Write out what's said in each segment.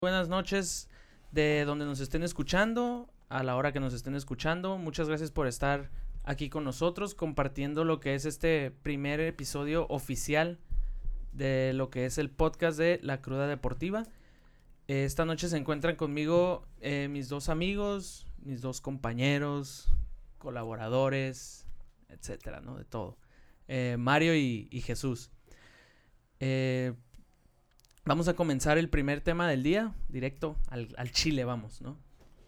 Buenas noches de donde nos estén escuchando, a la hora que nos estén escuchando. Muchas gracias por estar aquí con nosotros compartiendo lo que es este primer episodio oficial de lo que es el podcast de La Cruda Deportiva. Esta noche se encuentran conmigo mis dos amigos, mis dos compañeros, colaboradores, etcétera, ¿no? De todo. Mario y Jesús. Vamos a comenzar el primer tema del día, directo al Chile, vamos, ¿no?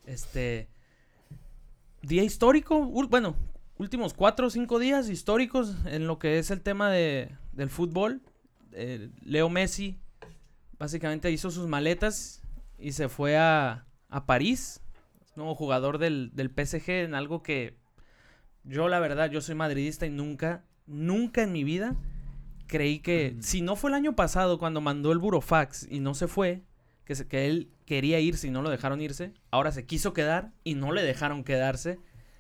Día histórico, últimos 4 o 5 días históricos en lo que es el tema del fútbol. Leo Messi básicamente hizo sus maletas y se fue a París, nuevo jugador del PSG, en algo que yo, la verdad, yo soy madridista y nunca en mi vida creí que, si no fue el año pasado cuando mandó el burofax y no se fue, que él quería irse y no lo dejaron irse, ahora se quiso quedar y no le dejaron quedarse.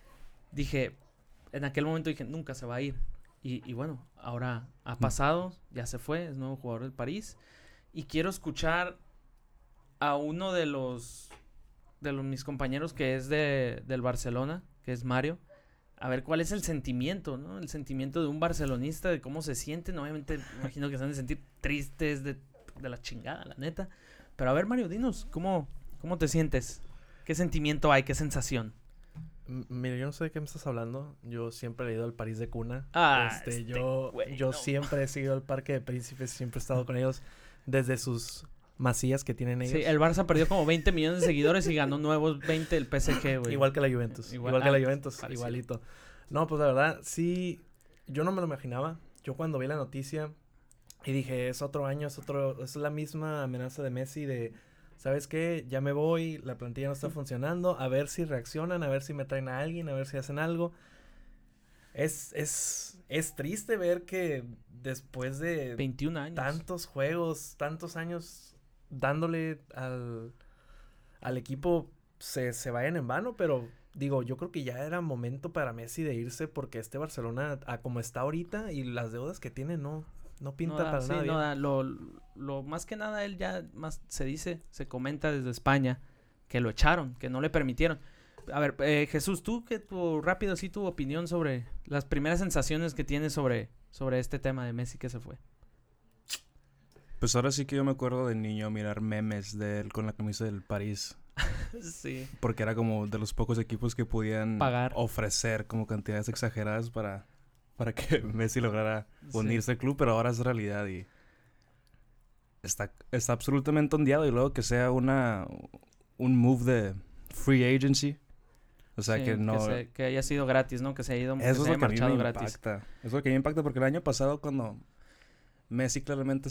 En aquel momento dije, nunca se va a ir. Y bueno, ahora ha pasado, ya se fue, es nuevo jugador del París. Y quiero escuchar a uno de mis compañeros que es del Barcelona, que es Mario. A ver cuál es el sentimiento, ¿no? El sentimiento de un barcelonista, de cómo se sienten. Obviamente, me imagino que se han de sentir tristes de la chingada, la neta. Pero a ver, Mario, dinos, ¿cómo te sientes? ¿Qué sentimiento hay? ¿Qué sensación? Mira, yo no sé de qué me estás hablando. Yo siempre he ido al París de cuna. Yo siempre he seguido al Parque de Príncipes, siempre he estado con ellos desde sus masías que tienen ellos. Sí, el Barça perdió como 20 millones de seguidores y ganó nuevos 20 el PSG, güey. Igual que la Juventus. Igual que la Juventus, parecido. Igualito. No, pues la verdad, sí, yo no me lo imaginaba. Yo cuando vi la noticia y dije, es otro año, es la misma amenaza de Messi de, ¿sabes qué? Ya me voy, la plantilla no está funcionando, a ver si reaccionan, a ver si me traen a alguien, a ver si hacen algo. Es triste ver que después de 21 años, tantos juegos, tantos años dándole al equipo se vayan en vano, pero digo, yo creo que ya era momento para Messi de irse porque este Barcelona, como está ahorita y las deudas que tiene, no pinta para nada bien. No da. Lo más que nada él ya más se comenta desde España que lo echaron, que no le permitieron. A ver, Jesús, tú rápido sí tu opinión sobre las primeras sensaciones que tienes sobre este tema de Messi que se fue. Pues ahora sí que yo me acuerdo de niño mirar memes de él con la camisa del París. Sí. Porque era como de los pocos equipos que podían pagar, ofrecer como cantidades exageradas para que Messi lograra unirse al club, pero ahora es realidad y está absolutamente ondeado. Y luego que sea un move de free agency. O sea, sí, que no... Que haya sido gratis, ¿no? Que se haya ido eso es lo que a mí me gratis. Impacta. Eso es lo que me impacta porque el año pasado cuando Messi claramente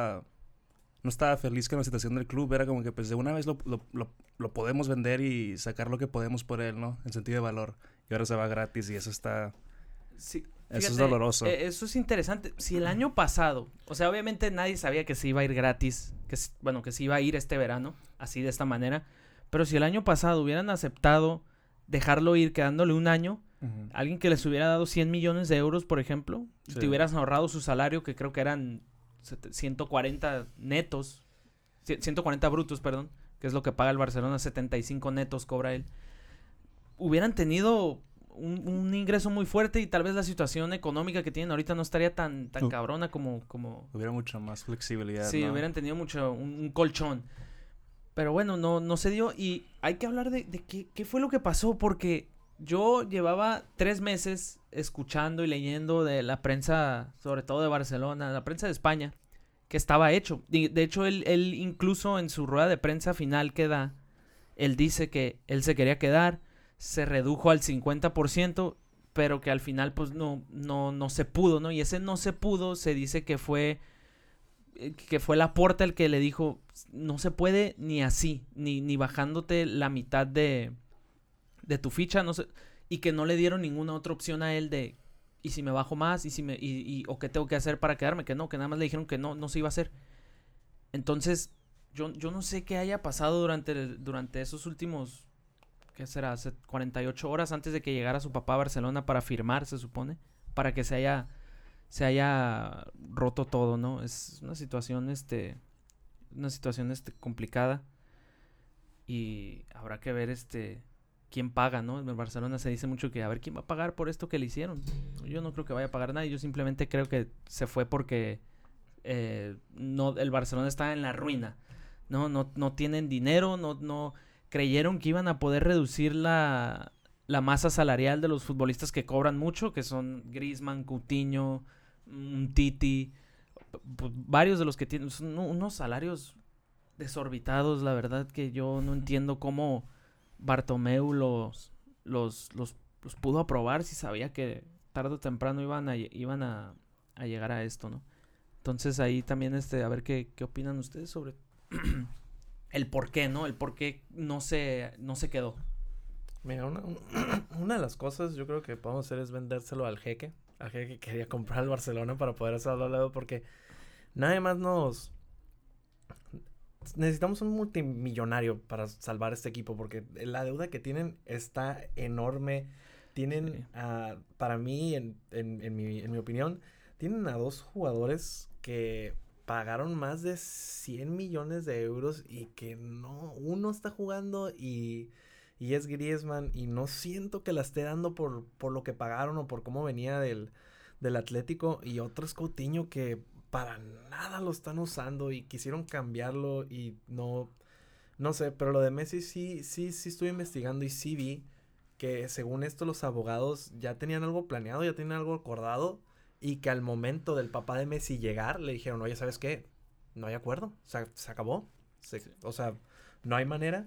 no estaba feliz con la situación del club, era como que pues de una vez lo podemos vender y sacar lo que podemos por él, ¿no? En sentido de valor. Y ahora se va gratis y eso está... Sí, fíjate, eso es doloroso. Eso es interesante. Si el año pasado, o sea, obviamente nadie sabía que se iba a ir gratis, que se iba a ir este verano, así de esta manera. Pero si el año pasado hubieran aceptado dejarlo ir quedándole un año, alguien que les hubiera dado 100 millones de euros, por ejemplo, sí, te hubieras ahorrado su salario, que creo que eran 140 netos, 140 brutos, perdón, que es lo que paga el Barcelona, 75 netos cobra él. Hubieran tenido un ingreso muy fuerte y tal vez la situación económica que tienen ahorita no estaría tan cabrona como... Hubiera mucha más flexibilidad, sí, ¿no? Hubieran tenido un colchón. Pero bueno, no se dio y hay que hablar de qué fue lo que pasó, porque yo llevaba 3 meses escuchando y leyendo de la prensa, sobre todo de Barcelona, la prensa de España, que estaba hecho. De hecho, él incluso en su rueda de prensa final que da, él dice que él se quería quedar, se redujo al 50%, pero que al final pues no se pudo, ¿no? Y ese no se pudo se dice que fue Laporta el que le dijo, no se puede ni así, ni bajándote la mitad de tu ficha, no sé, y que no le dieron ninguna otra opción a él de, y si me bajo más, o qué tengo que hacer para quedarme, que nada más le dijeron que no se iba a hacer. Entonces, yo no sé qué haya pasado durante esos últimos, ¿qué será? 48 horas antes de que llegara su papá a Barcelona para firmar, se supone, para que se haya roto todo, ¿no? Es una situación complicada. y habrá que ver quién paga, ¿no? En el Barcelona se dice mucho que a ver quién va a pagar por esto que le hicieron. Yo no creo que vaya a pagar nadie, yo simplemente creo que se fue porque no, el Barcelona está en la ruina, no tienen dinero, no creyeron que iban a poder reducir la masa salarial de los futbolistas que cobran mucho, que son Griezmann, Coutinho, Titi, varios de los que tienen son unos salarios desorbitados, la verdad que yo no entiendo cómo Bartomeu los pudo aprobar si sabía que tarde o temprano iban a llegar a esto, ¿no? Entonces ahí también a ver qué opinan ustedes sobre el por qué, ¿no? El por qué no se quedó. Mira, una de las cosas yo creo que podemos hacer es vendérselo al jeque. Al jeque que quería comprar al Barcelona para poder hacerlo al lado, porque nadie más necesitamos un multimillonario para salvar este equipo, porque la deuda que tienen está enorme. Tienen, para mí, en mi opinión, tienen a 2 jugadores que pagaron más de 100 millones de euros y que uno está jugando y es Griezmann, y no siento que la esté dando por lo que pagaron o por cómo venía del Atlético, y otro es Coutinho que para nada lo están usando y quisieron cambiarlo y no sé, pero lo de Messi sí estuve investigando y sí vi que según esto los abogados ya tenían algo planeado, ya tenían algo acordado, y que al momento del papá de Messi llegar le dijeron, oye, ¿sabes qué? No hay acuerdo, se acabó, o sea, no hay manera.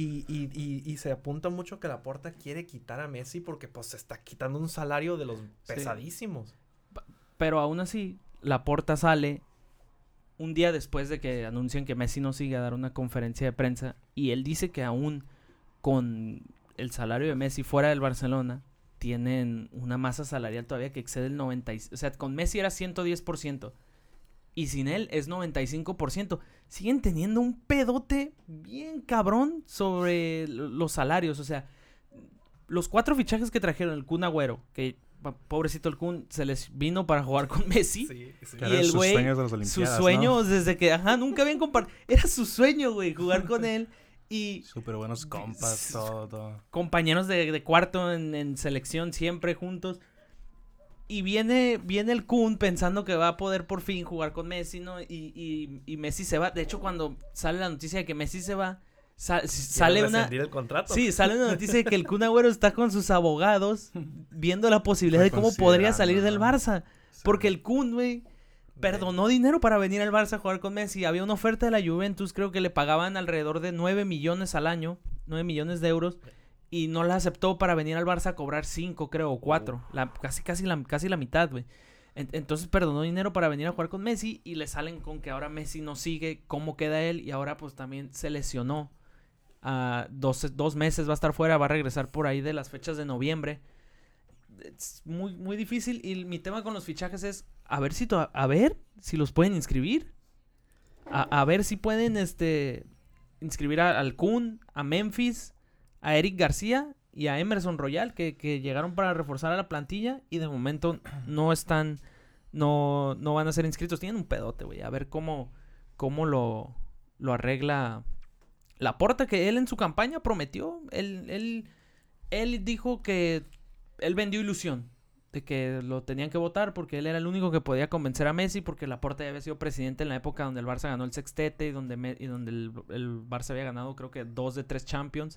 Y se apunta mucho que Laporta quiere quitar a Messi porque pues se está quitando un salario de los pesadísimos. Pero aún así, Laporta sale un día después de que anuncian que Messi no sigue a dar una conferencia de prensa, y él dice que aún con el salario de Messi fuera del Barcelona tienen una masa salarial todavía que excede el 90%. O sea, con Messi era 110%. Y sin él es 95%. Siguen teniendo un pedote bien cabrón sobre los salarios. O sea, los 4 fichajes que trajeron, el Kun Agüero, que pobrecito el Kun, se les vino para jugar con Messi. Sí. Y el güey, sus sueños, ¿no? Desde que, nunca habían compartido. Era su sueño, güey, jugar con él. Y súper buenos compas, todo. Compañeros de cuarto en selección, siempre juntos. Y viene el Kun pensando que va a poder por fin jugar con Messi, ¿no? Y Messi se va. De hecho, cuando sale la noticia de que Messi se va, sale una... el contrato. Sí, sale una noticia de que el Kun Agüero está con sus abogados viendo la posibilidad de cómo podría salir del Barça. Porque el Kun, güey, perdonó dinero para venir al Barça a jugar con Messi. Había una oferta de la Juventus, creo que le pagaban alrededor de 9 millones al año, 9 millones de euros, y no la aceptó para venir al Barça a cobrar 5, creo, o 4, casi la mitad, güey. Entonces perdonó dinero para venir a jugar con Messi, y le salen con que ahora Messi no sigue, cómo queda él, y ahora pues también se lesionó. 2 meses va a estar fuera, va a regresar por ahí de las fechas de noviembre. Es muy, muy difícil, y mi tema con los fichajes es a ver si los pueden inscribir. A ver si pueden inscribir al Kun, a Memphis, a Eric García y a Emerson Royal, que llegaron para reforzar a la plantilla y de momento no van a ser inscritos. Tienen un pedote, güey. A ver cómo lo arregla Laporta, que él en su campaña prometió. Él dijo que él vendió ilusión de que lo tenían que votar porque él era el único que podía convencer a Messi, porque Laporta ya había sido presidente en la época donde el Barça ganó el sextete y donde el Barça había ganado creo que 2 de 3 Champions,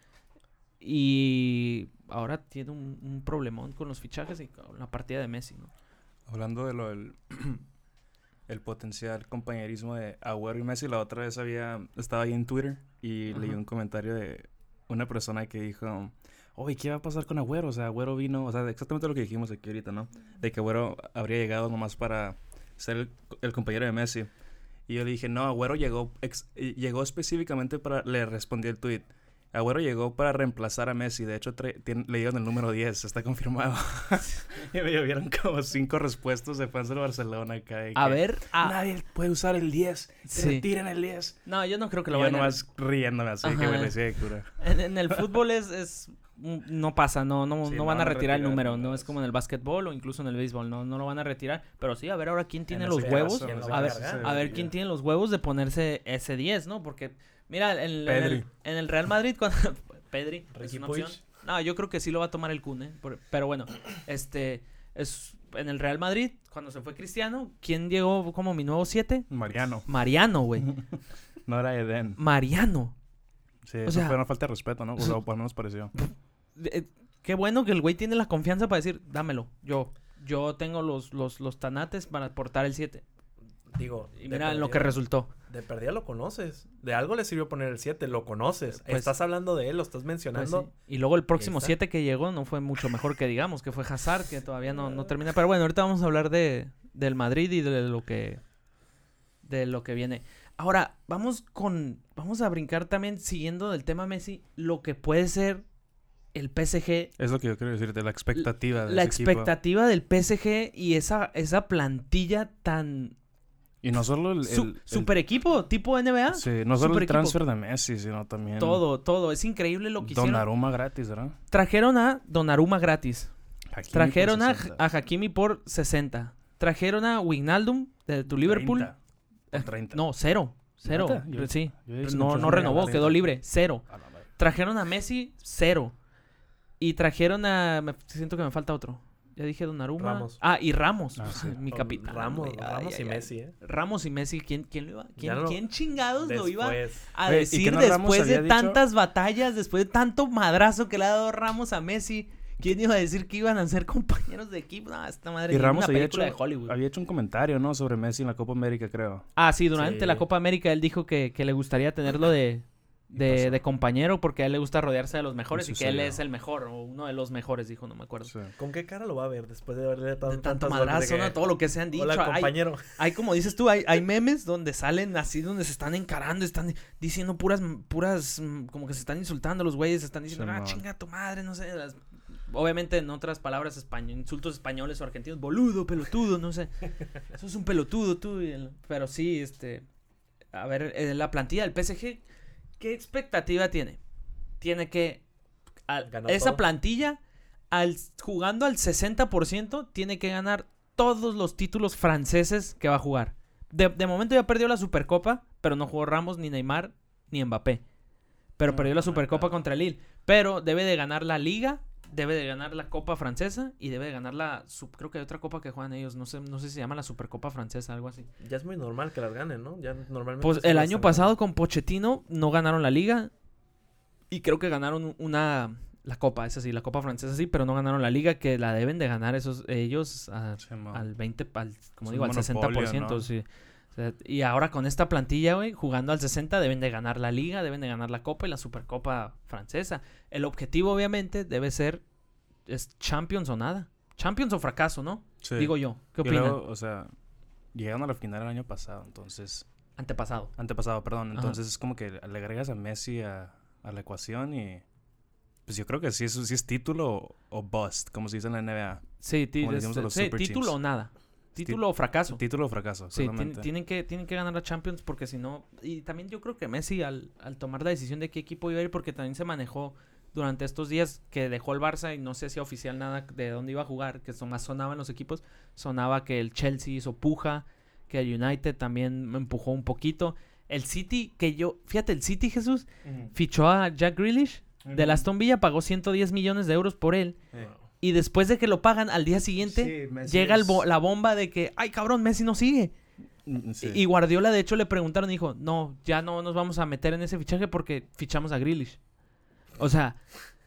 y ahora tiene un problemón con los fichajes y con la partida de Messi, ¿no? Hablando de el potencial compañerismo de Agüero y Messi, la otra vez estaba ahí en Twitter y leí un comentario de una persona que dijo, oye, ¿qué va a pasar con Agüero? O sea, Agüero vino, o sea, exactamente lo que dijimos aquí ahorita, ¿no? De que Agüero habría llegado nomás para ser el compañero de Messi. Y yo le dije, no, Agüero llegó específicamente le respondí el tweet, Agüero llegó para reemplazar a Messi. De hecho, le dieron el número 10. Está confirmado. Y me llovieron como 5 respuestas de fans del Barcelona acá. Nadie puede usar el 10. Sí. Retiren el 10. No, yo no creo que lo vayan a... Yo nomás riéndome así. Ajá. Que me decía de cura. En el fútbol no pasa. No van a retirar el número. No es como en el básquetbol o incluso en el béisbol. No lo van a retirar. Pero sí, a ver ahora quién tiene los huevos. A ver quién tiene los huevos de ponerse ese 10, ¿no? Porque Mira, en el Real Madrid, cuando Pedri es una opción. No, yo creo que sí lo va a tomar el Kun, pero bueno, es en el Real Madrid, cuando se fue Cristiano, ¿quién llegó como mi nuevo 7? Mariano, güey. No era Eden. Mariano. Sí, eso fue una falta de respeto, ¿no? O por lo menos pareció. Qué bueno que el güey tiene la confianza para decir, dámelo. Yo tengo los tanates para portar el 7. Digo, y mira en lo que resultó. De perdida lo conoces. De algo le sirvió poner el 7, lo conoces. Pues, estás hablando de él, lo estás mencionando. Pues sí. Y luego el próximo 7 que llegó no fue mucho mejor que digamos, que fue Hazard, que todavía no termina. Pero bueno, ahorita vamos a hablar del Madrid y de lo que viene. Ahora, vamos a brincar también, siguiendo del tema Messi, lo que puede ser el PSG. Es lo que yo quiero decirte, la expectativa del expectativa del PSG y esa plantilla tan... Y no solo el super equipo, tipo NBA. Sí, no solo el transfer de Messi, sino también... Todo. Es increíble lo que hicieron. Donnarumma gratis, ¿verdad? Trajeron a Donnarumma gratis. Hakimi trajeron a Hakimi por 60. Trajeron a Wijnaldum de tu Liverpool. 30. No, 0. Sí. No renovó, quedó libre. 0. Trajeron a Messi, 0. Y trajeron siento que me falta otro. Ya dije Donnarumma. Ramos. Y Ramos. Sí. Mi capitán. Ramos y Messi, Ramos y Messi. ¿Quién lo iba? ¿Quién chingados después lo iba a decir después de tantas batallas, después de tanto madrazo que le ha dado Ramos a Messi? ¿Quién iba a decir que iban a ser compañeros de equipo? No, esta madre. Y Ramos una película de Hollywood. Había hecho un comentario, ¿no? Sobre Messi en la Copa América, creo. Sí, durante la Copa América él dijo que le gustaría tenerlo de compañero porque a él le gusta rodearse de los mejores y que él es el mejor o uno de los mejores, dijo, no me acuerdo. Sí. ¿Con qué cara lo va a ver después de haberle dado tanto madrazo, ¿no? Todo lo que se han dicho. Hola, compañero. Hay como dices tú, hay memes donde salen así, donde se están encarando, están diciendo puras, como que se están insultando los güeyes, se están diciendo, chinga tu madre, no sé. Obviamente en otras palabras insultos españoles o argentinos, boludo, pelotudo, no sé. Eso es un pelotudo tú. Pero sí, a ver, la plantilla del PSG, ¿qué expectativa tiene? Tiene que esa todo. Plantilla, jugando al 60%, tiene que ganar todos los títulos franceses que va a jugar. De momento ya perdió la Supercopa, pero no jugó Ramos, ni Neymar, ni Mbappé. Pero perdió la Supercopa contra Lille. Pero debe de ganar la Liga, debe de ganar la Copa Francesa y debe de ganar creo que hay otra copa que juegan ellos, no sé si se llama la Supercopa Francesa, algo así. Ya es muy normal que las ganen, ¿no? Ya normalmente. Pues el año pasado con Pochettino no ganaron la Liga y creo que ganaron la Copa, esa sí, la Copa Francesa sí, pero no ganaron la Liga, que la deben de ganar ellos al 20, como digo, al 60%, ¿no? Sí. O sea, y ahora con esta plantilla, güey, jugando al 60, deben de ganar la Liga, deben de ganar la Copa y la Supercopa Francesa. El objetivo, obviamente, debe ser Champions o nada. Champions o fracaso, ¿no? Sí. Digo yo. ¿Qué opinan? Luego, o sea, llegaron a la final el año pasado, entonces... Antepasado, perdón. Entonces es como que le agregas a Messi a la ecuación y... Pues yo creo que sí es título o bust, como se dice en la NBA. Sí, título o nada. Título o fracaso. Título o fracaso. Sí, tienen que ganar la Champions porque si no... Y también yo creo que Messi al tomar la decisión de qué equipo iba a ir, porque también se manejó durante estos días que dejó el Barça y no sé si oficial nada de dónde iba a jugar, que más sonaban los equipos. Sonaba que el Chelsea hizo puja, que el United también me empujó un poquito. El City, fíjate, el City, Jesús, fichó a Jack Grealish del Aston Villa, pagó 110 millones de euros por él. Y después de que lo pagan, al día siguiente, llega la bomba de que, ay, cabrón, Messi no sigue. Sí. Y Guardiola, de hecho, le preguntaron y dijo, no, ya no nos vamos a meter en ese fichaje porque fichamos a Grealish. O sea,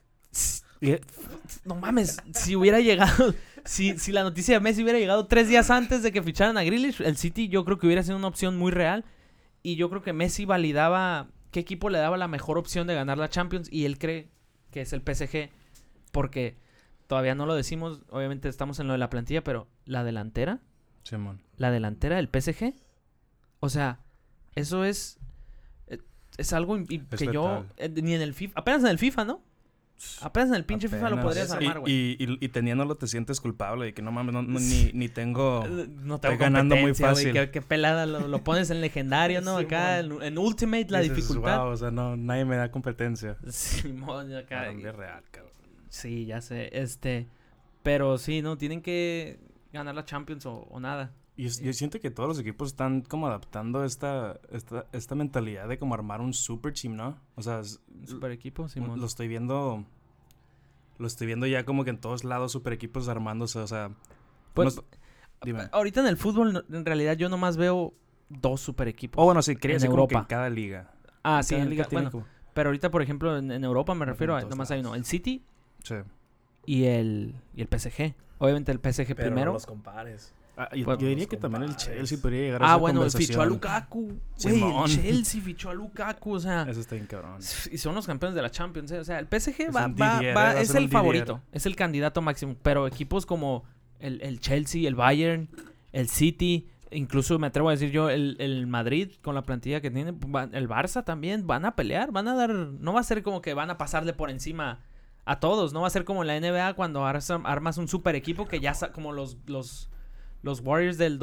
no mames, si hubiera llegado, si la noticia de Messi hubiera llegado 3 días antes de que ficharan a Grealish, el City yo creo que hubiera sido una opción muy real. Y yo creo que Messi validaba qué equipo le daba la mejor opción de ganar la Champions. Y él cree que es el PSG porque... Todavía no lo decimos, obviamente estamos en lo de la plantilla, pero la delantera, Simón. La delantera del PSG, o sea, eso es algo que letal. Yo, ni en el FIFA, apenas en el FIFA, ¿no? Apenas en el pinche FIFA lo podrías armar, güey. Y teniéndolo te sientes culpable de que no mames, ni tengo... No tengo ganando muy fácil. Qué pelada, lo pones en legendario, ¿no? Sí, acá en Ultimate la dificultad. Wow, o sea, no, nadie me da competencia. Simón, acá. Es real, cabrón. Sí, ya sé, pero sí, no, tienen que ganar la Champions o nada. Yo siento que todos los equipos están como adaptando esta mentalidad de como armar un super team, ¿no? O sea, Un super equipo, Simón. lo estoy viendo ya como que en todos lados super equipos armándose, o sea... Pues, dime. ahorita en el fútbol, en realidad, yo nomás veo 2 super equipos. Oh, bueno, sí, quería en decir como que Europa. en cada liga. Ah, En sí, cada en liga ca- tiene bueno, como... pero ahorita, por ejemplo, en Europa me refiero a en todos nomás hay uno, lados. el City Sí. y el PSG. Obviamente el PSG Pero primero. no los compares. Yo Pues, diría los que también el compares. Chelsea podría llegar a esa Bueno, conversación. fichó a Lukaku. Güey, Simón. el Chelsea fichó a Lukaku, o sea, Eso está bien cabrón. y son los campeones de la Champions, o sea, el PSG Es un Didier, es ser el un favorito, Didier. es el candidato máximo, pero equipos como el Chelsea, el Bayern, el City, incluso me atrevo a decir yo, el Madrid con la plantilla que tiene, el Barça también, van a pelear, van a dar, no va a ser como que van a pasarle por encima a todos, no va a ser como en la NBA cuando armas un super equipo que ya, como los Warriors del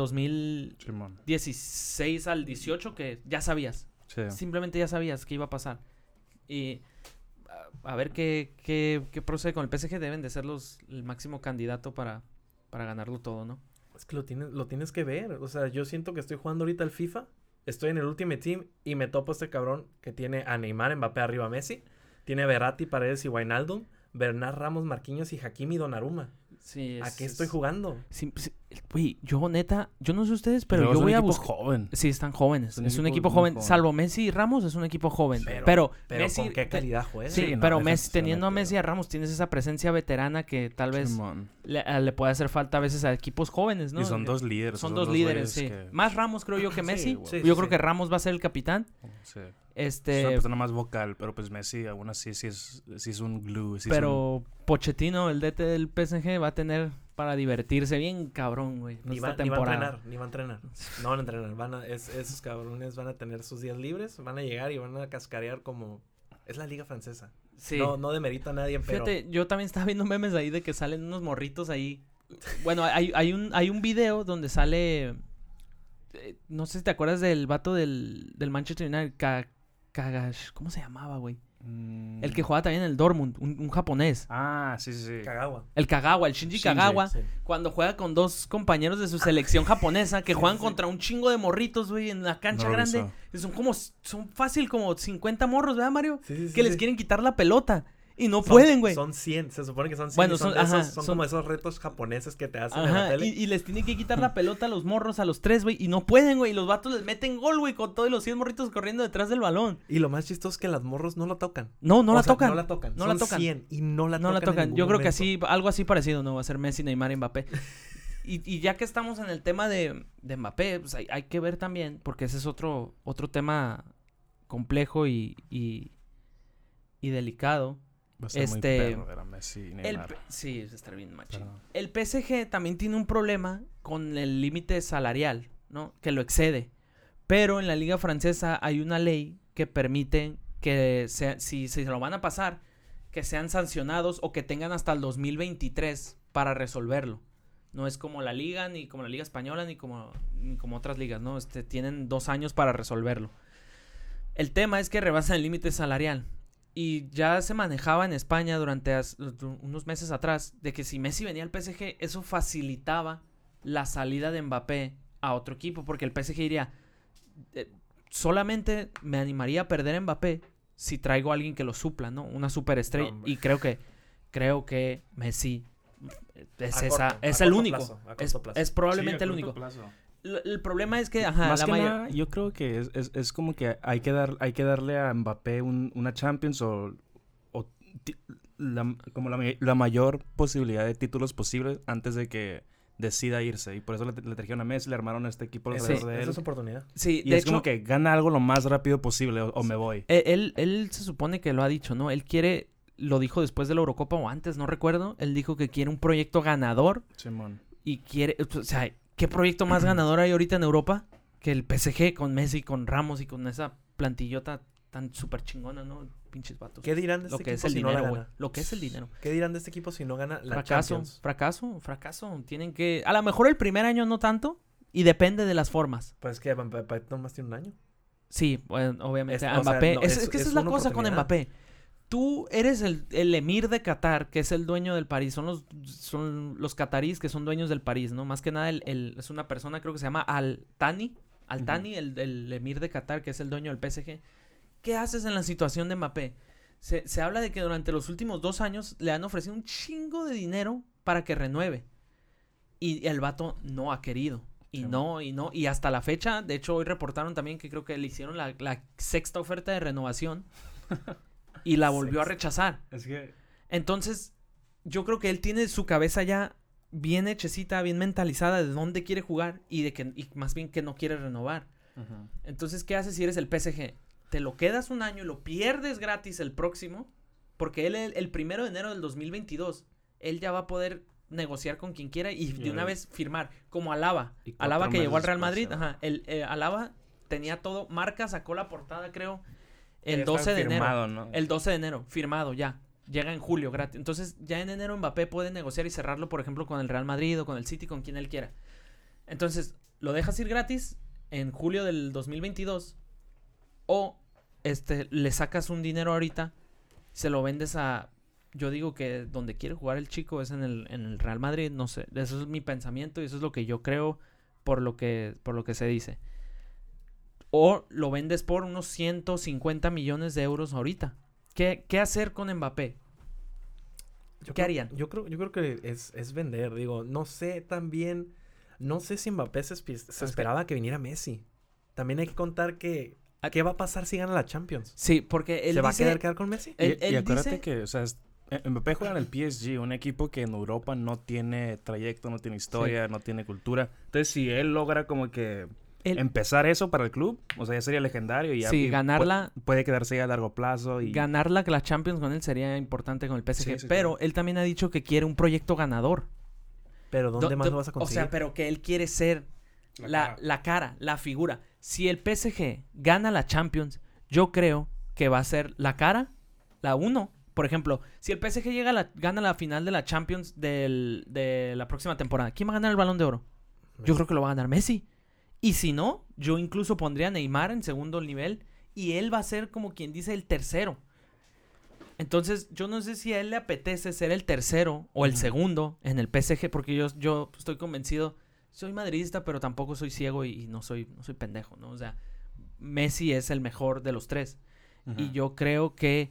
2016 Simón. al 18 que ya sabías. Sí. Simplemente ya sabías que iba a pasar. Y a ver qué procede con el PSG. Deben de ser el máximo candidato para ganarlo todo, ¿no? Es que lo tienes que ver. O sea, yo siento que estoy jugando ahorita al FIFA. Estoy en el Ultimate Team y me topo a este cabrón que tiene a Neymar, Mbappé arriba a Messi. Tiene a Verratti, Paredes y Wijnaldum. Bernard Ramos, Marquinhos y Hakimi Donnarumma. Sí, ¿A qué estoy jugando? Güey, yo neta, yo no sé ustedes, pero Luego yo es un voy a equipo buscar. joven. Sí, están jóvenes. Es un equipo muy joven. joven. Salvo Messi y Ramos, es un equipo joven. Pero Pero Messi, ¿con qué calidad juega? Sí, Sí, no, pero defensivamente, teniendo a Messi y a Ramos, tienes esa presencia veterana que tal vez Simón. le puede hacer falta a veces a equipos jóvenes, ¿no? Y son Que- dos líderes. Son esos dos líderes, sí. güeyes que- Más Ramos creo yo que Messi. güey. Sí, Yo sí, creo sí. que Ramos va a ser el capitán. Sí. Es una Este, persona más vocal, pero pues Messi aún así sí es un glue. Sí es pero Pochettino, el DT del PSG, va a tener para divertirse bien cabrón, güey. Ni esta va a temporada. entrenar. No van a entrenar. Esos cabrones van a tener sus días libres, van a llegar y van a cascarear como... Es la liga francesa. Sí. No demerito a nadie, pero... Fíjate, yo también estaba viendo memes ahí de que salen unos morritos ahí. Bueno, hay un video donde sale... no sé si te acuerdas del vato del Manchester United, Kagash, ¿cómo se llamaba, güey? El que jugaba también en el Dortmund, un japonés. Ah, sí. Kagawa. El Kagawa, el Shinji Kagawa, Sí. cuando juega con 2 compañeros de su selección japonesa que Sí, juegan sí. contra un chingo de morritos, güey, en la cancha No lo grande. hizo. Son fácil como 50 morros, ¿verdad, Mario? Sí, Que les quieren quitar la pelota y no Son- pueden, güey. Son 100, se supone que son 100. Bueno, y son, son- ajá, son son- como esos retos japoneses que te hacen en la Ajá, tele. y les tienen que quitar la pelota a los morros, a los 3, güey, y no pueden, güey. Y los vatos les meten gol, güey, con todos los 100 morritos corriendo detrás del balón. Y lo más chistoso es que las morros no lo tocan. No O la sea, tocan. No la tocan. No Son la tocan. 100 y no la No tocan. la en tocan. ningún Yo creo que momento. algo así parecido, ¿no? Va a ser Messi, Neymar y Mbappé. Y ya que estamos en el tema de Mbappé, pues hay que ver también, porque ese es otro tema complejo y delicado. Va a ser muy perro ver a Messi y Neymar. Sí, es estar bien machín. Pero- El PSG también tiene un problema con el límite salarial, ¿no? Que lo excede. Pero en la liga francesa hay una ley que permite que si se lo van a pasar, que sean sancionados o que tengan hasta el 2023 para resolverlo. No es como la liga, ni como la liga española, ni como otras ligas, ¿no? Tienen 2 años para resolverlo. El tema es que rebasan el límite salarial. Y ya se manejaba en España durante unos meses atrás de que si Messi venía al PSG, eso facilitaba la salida de Mbappé a otro equipo. Porque el PSG diría, solamente me animaría a perder a Mbappé si traigo a alguien que lo supla, ¿no? Una superestrella. No, hombre. Y creo que Messi es A el corto único. plazo, a corto plazo. Es probablemente el único. El problema es que, ajá, Más la que mayor... nada, yo creo que es como que hay que darle a Mbappé una Champions o como la mayor posibilidad de títulos posibles antes de que decida irse. Y por eso le trajeron a Messi, le armaron a este equipo alrededor de él. Esa es su oportunidad. Sí, Y de es hecho, como que gana algo lo más rápido posible o me voy. Él se supone que lo ha dicho, ¿no? Él quiere, lo dijo después de la Eurocopa o antes, no recuerdo. Él dijo que quiere un proyecto ganador Simón. y quiere, o sea, ¿qué proyecto más ganador hay ahorita en Europa que el PSG con Messi, con Ramos y con esa plantillota tan súper chingona, ¿no? Pinches vatos. ¿Qué dirán de Lo este que es equipo el si no la dinero, güey. gana? Lo que es el dinero. ¿Qué dirán de este equipo si no gana la Fracaso, Champions? fracaso. Tienen que, a lo mejor el primer año no tanto y depende de las formas. Pues que Mbappé nomás tiene un año. Sí, bueno, obviamente. Es- a o sea, Mbappé. no, es que esa es la una cosa con oportunidad. Mbappé. tú eres el emir de Qatar, que es el dueño del París. Son los cataríes que son dueños del París, ¿no? Más que nada, es una persona, creo que se llama Al-Thani. Al-Thani, el emir de Qatar, que es el dueño del PSG. ¿Qué haces en la situación de Mbappé? Se habla de que durante los últimos 2 años le han ofrecido un chingo de dinero para que renueve. Y el vato no ha querido. Y hasta la fecha, de hecho, hoy reportaron también que creo que le hicieron la 6ª oferta de renovación y la volvió a rechazar. Entonces, yo creo que él tiene su cabeza ya bien hechecita, bien mentalizada de dónde quiere jugar y más bien que no quiere renovar. Uh-huh. Entonces, ¿qué haces si eres el PSG? Te lo quedas un año y lo pierdes gratis el próximo, porque él el 1 de enero del 2022, él ya va a poder negociar con quien quiera y de una vez firmar, como Alaba que llegó al Real Madrid. Ajá, Alaba tenía todo, Marca sacó la portada, creo, el 12 de enero, ¿no? El 12 de enero, firmado ya, llega en julio gratis. Entonces ya en enero Mbappé puede negociar y cerrarlo, por ejemplo, con el Real Madrid o con el City, con quien él quiera. Entonces lo dejas ir gratis en julio del 2022 o le sacas un dinero ahorita, se lo vendes a... Yo digo que donde quiere jugar el chico es en el Real Madrid, no sé. Eso es mi pensamiento y eso es lo que yo creo por lo que se dice. O lo vendes por unos 150 millones de euros ahorita. ¿Qué hacer con Mbappé? ¿Qué harían? Yo creo que es vender. Digo, no sé también... No sé si Mbappé se esperaba que viniera Messi. También hay que contar que... ¿Qué va a pasar si gana la Champions? Sí, porque él ¿Se va a quedar con Messi? Y acuérdate que, o sea, Mbappé juega en el PSG, un equipo que en Europa no tiene trayecto, no tiene historia, no tiene cultura. Entonces, si él logra como que empezar eso para el club, o sea, ya sería legendario y ya ganarla, puede quedarse a largo plazo. Y ganar la Champions con él sería importante con el PSG, pero él también ha dicho que quiere un proyecto ganador. ¿Pero dónde más lo vas a conseguir? O sea, pero que él quiere ser la cara, la figura. Si el PSG gana la Champions, yo creo que va a ser la cara, la 1. Por ejemplo, si el PSG gana la final de la Champions de la próxima temporada, ¿quién va a ganar el Balón de Oro? Messi. Yo creo que lo va a ganar Messi. Y si no, yo incluso pondría a Neymar en segundo nivel y él va a ser como quien dice el tercero. Entonces, yo no sé si a él le apetece ser el tercero o el segundo en el PSG, porque yo estoy convencido... Soy madridista, pero tampoco soy ciego y no soy pendejo, ¿no? O sea, Messi es el mejor de los 3. Uh-huh. Y yo creo que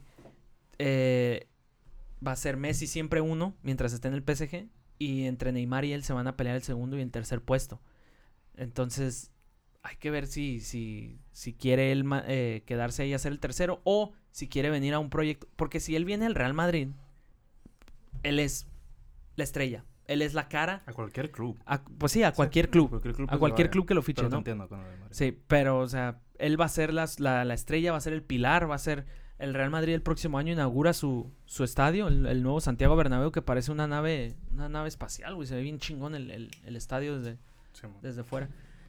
va a ser Messi siempre 1 mientras esté en el PSG. Y entre Neymar y él se van a pelear el segundo y el tercer puesto. Entonces, hay que ver si quiere él quedarse ahí a ser el tercero o si quiere venir a un proyecto. Porque si él viene al Real Madrid, él es la estrella. Él es la cara. A cualquier club. Pues sí, a cualquier club. A cualquier club que lo fiche, pero ¿no? Entiendo con el Madrid. Sí, pero, o sea, él va a ser la estrella, va a ser el pilar, va a ser... El Real Madrid el próximo año inaugura su estadio, el nuevo Santiago Bernabéu, que parece una nave espacial, güey. Se ve bien chingón el estadio desde fuera.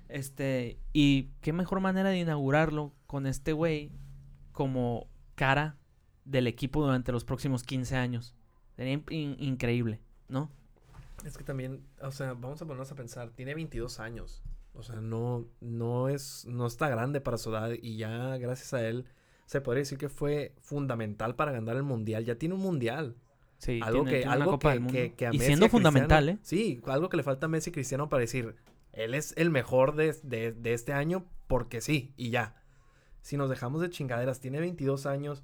Y qué mejor manera de inaugurarlo con este güey como cara del equipo durante los próximos 15 años. Sería increíble, ¿no? Es que también, o sea, vamos a ponernos a pensar, tiene 22 años, o sea, no está grande para su edad y ya gracias a él se podría decir que fue fundamental para ganar el Mundial, ya tiene un Mundial. Sí, algo tiene que una Copa del Mundo. Que a y Messi, siendo fundamental, ¿eh? Sí, algo que le falta a Messi y Cristiano para decir, él es el mejor de este año porque sí, y ya. Si nos dejamos de chingaderas, tiene 22 años,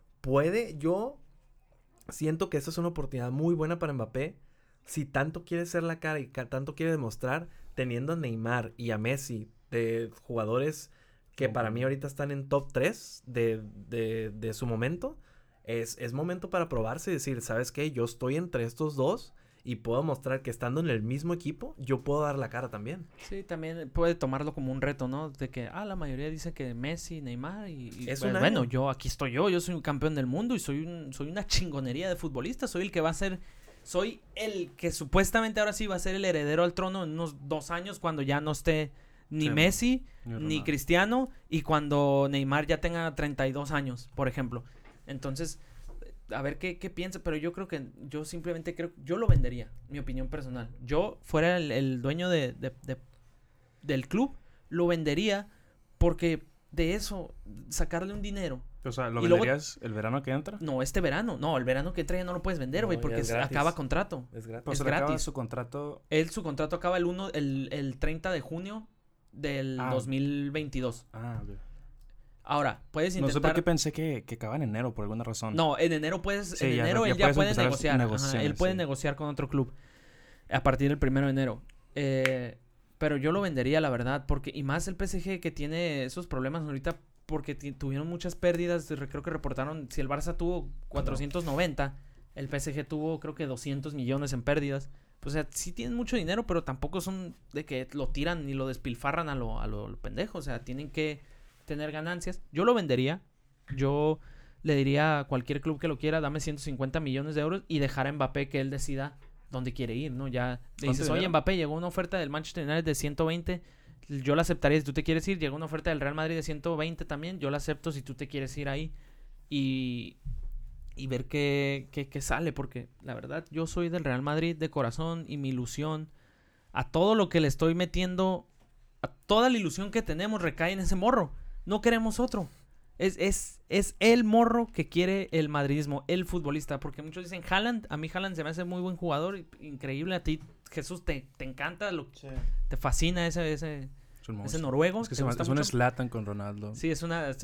yo siento que esa es una oportunidad muy buena para Mbappé. Si tanto quiere ser la cara y tanto quiere demostrar, teniendo a Neymar y a Messi, de jugadores que para mí ahorita están en top 3 de su momento, es momento para probarse y decir, ¿sabes qué? Yo estoy entre estos dos y puedo mostrar que estando en el mismo equipo, yo puedo dar la cara también. Sí, también puede tomarlo como un reto, ¿no? De que, la mayoría dice que Messi, Neymar y es bueno, aquí estoy yo soy un campeón del mundo y soy una chingonería de futbolista, soy el que va a ser... Soy el que supuestamente ahora sí va a ser el heredero al trono en unos 2 años cuando ya no esté ni Messi, ni Cristiano y cuando Neymar ya tenga 32 años, por ejemplo. Entonces, a ver qué piensa, pero yo creo que yo simplemente yo lo vendería, mi opinión personal. Yo fuera el dueño del club, lo vendería porque de eso, sacarle un dinero O sea, ¿lo Y venderías el verano que entra? No, este verano. No, el verano que entra ya no lo puedes vender, güey, No, porque ya es gratis. acaba contrato. Es gratis. Pues es se le acaba gratis. su contrato. Su contrato acaba el 30 de junio del 2022. Ok. Ahora, puedes No intentar... sé por qué pensé que acaba en enero, por alguna razón. No, en enero Sí, en ya- enero ya él ya puedes puede empezar negociar. Ajá, negociaciones, él puede sí. negociar con otro club a partir del 1 de enero. Pero yo lo vendería, la verdad, porque... Y más el PSG que tiene esos problemas ahorita porque tuvieron muchas pérdidas. Creo que reportaron... Si el Barça tuvo 490, el PSG tuvo creo que 200 millones en pérdidas. Pues, o sea, sí tienen mucho dinero, pero tampoco son de que lo tiran ni lo despilfarran a lo pendejo. O sea, tienen que tener ganancias. Yo lo vendería. Yo le diría a cualquier club que lo quiera, dame 150 millones de euros y dejar a Mbappé que él decida dónde quiere ir, ¿no? Ya le dices, oye, Mbappé, llegó una oferta del Manchester United de 120, yo la aceptaría si tú te quieres ir. Llegó una oferta del Real Madrid de 120 también, yo la acepto si tú te quieres ir ahí. Y ver qué sale, porque la verdad yo soy del Real Madrid de corazón y mi ilusión, a todo lo que le estoy metiendo, a toda la ilusión que tenemos recae en ese morro. No queremos otro. Es el morro que quiere el madridismo, el futbolista. Porque muchos dicen Haaland. A mí Haaland se me hace muy buen jugador, increíble. A ti, Jesús, te encanta, te fascina ese noruego. Es que es un Zlatan con Ronaldo. Sí, es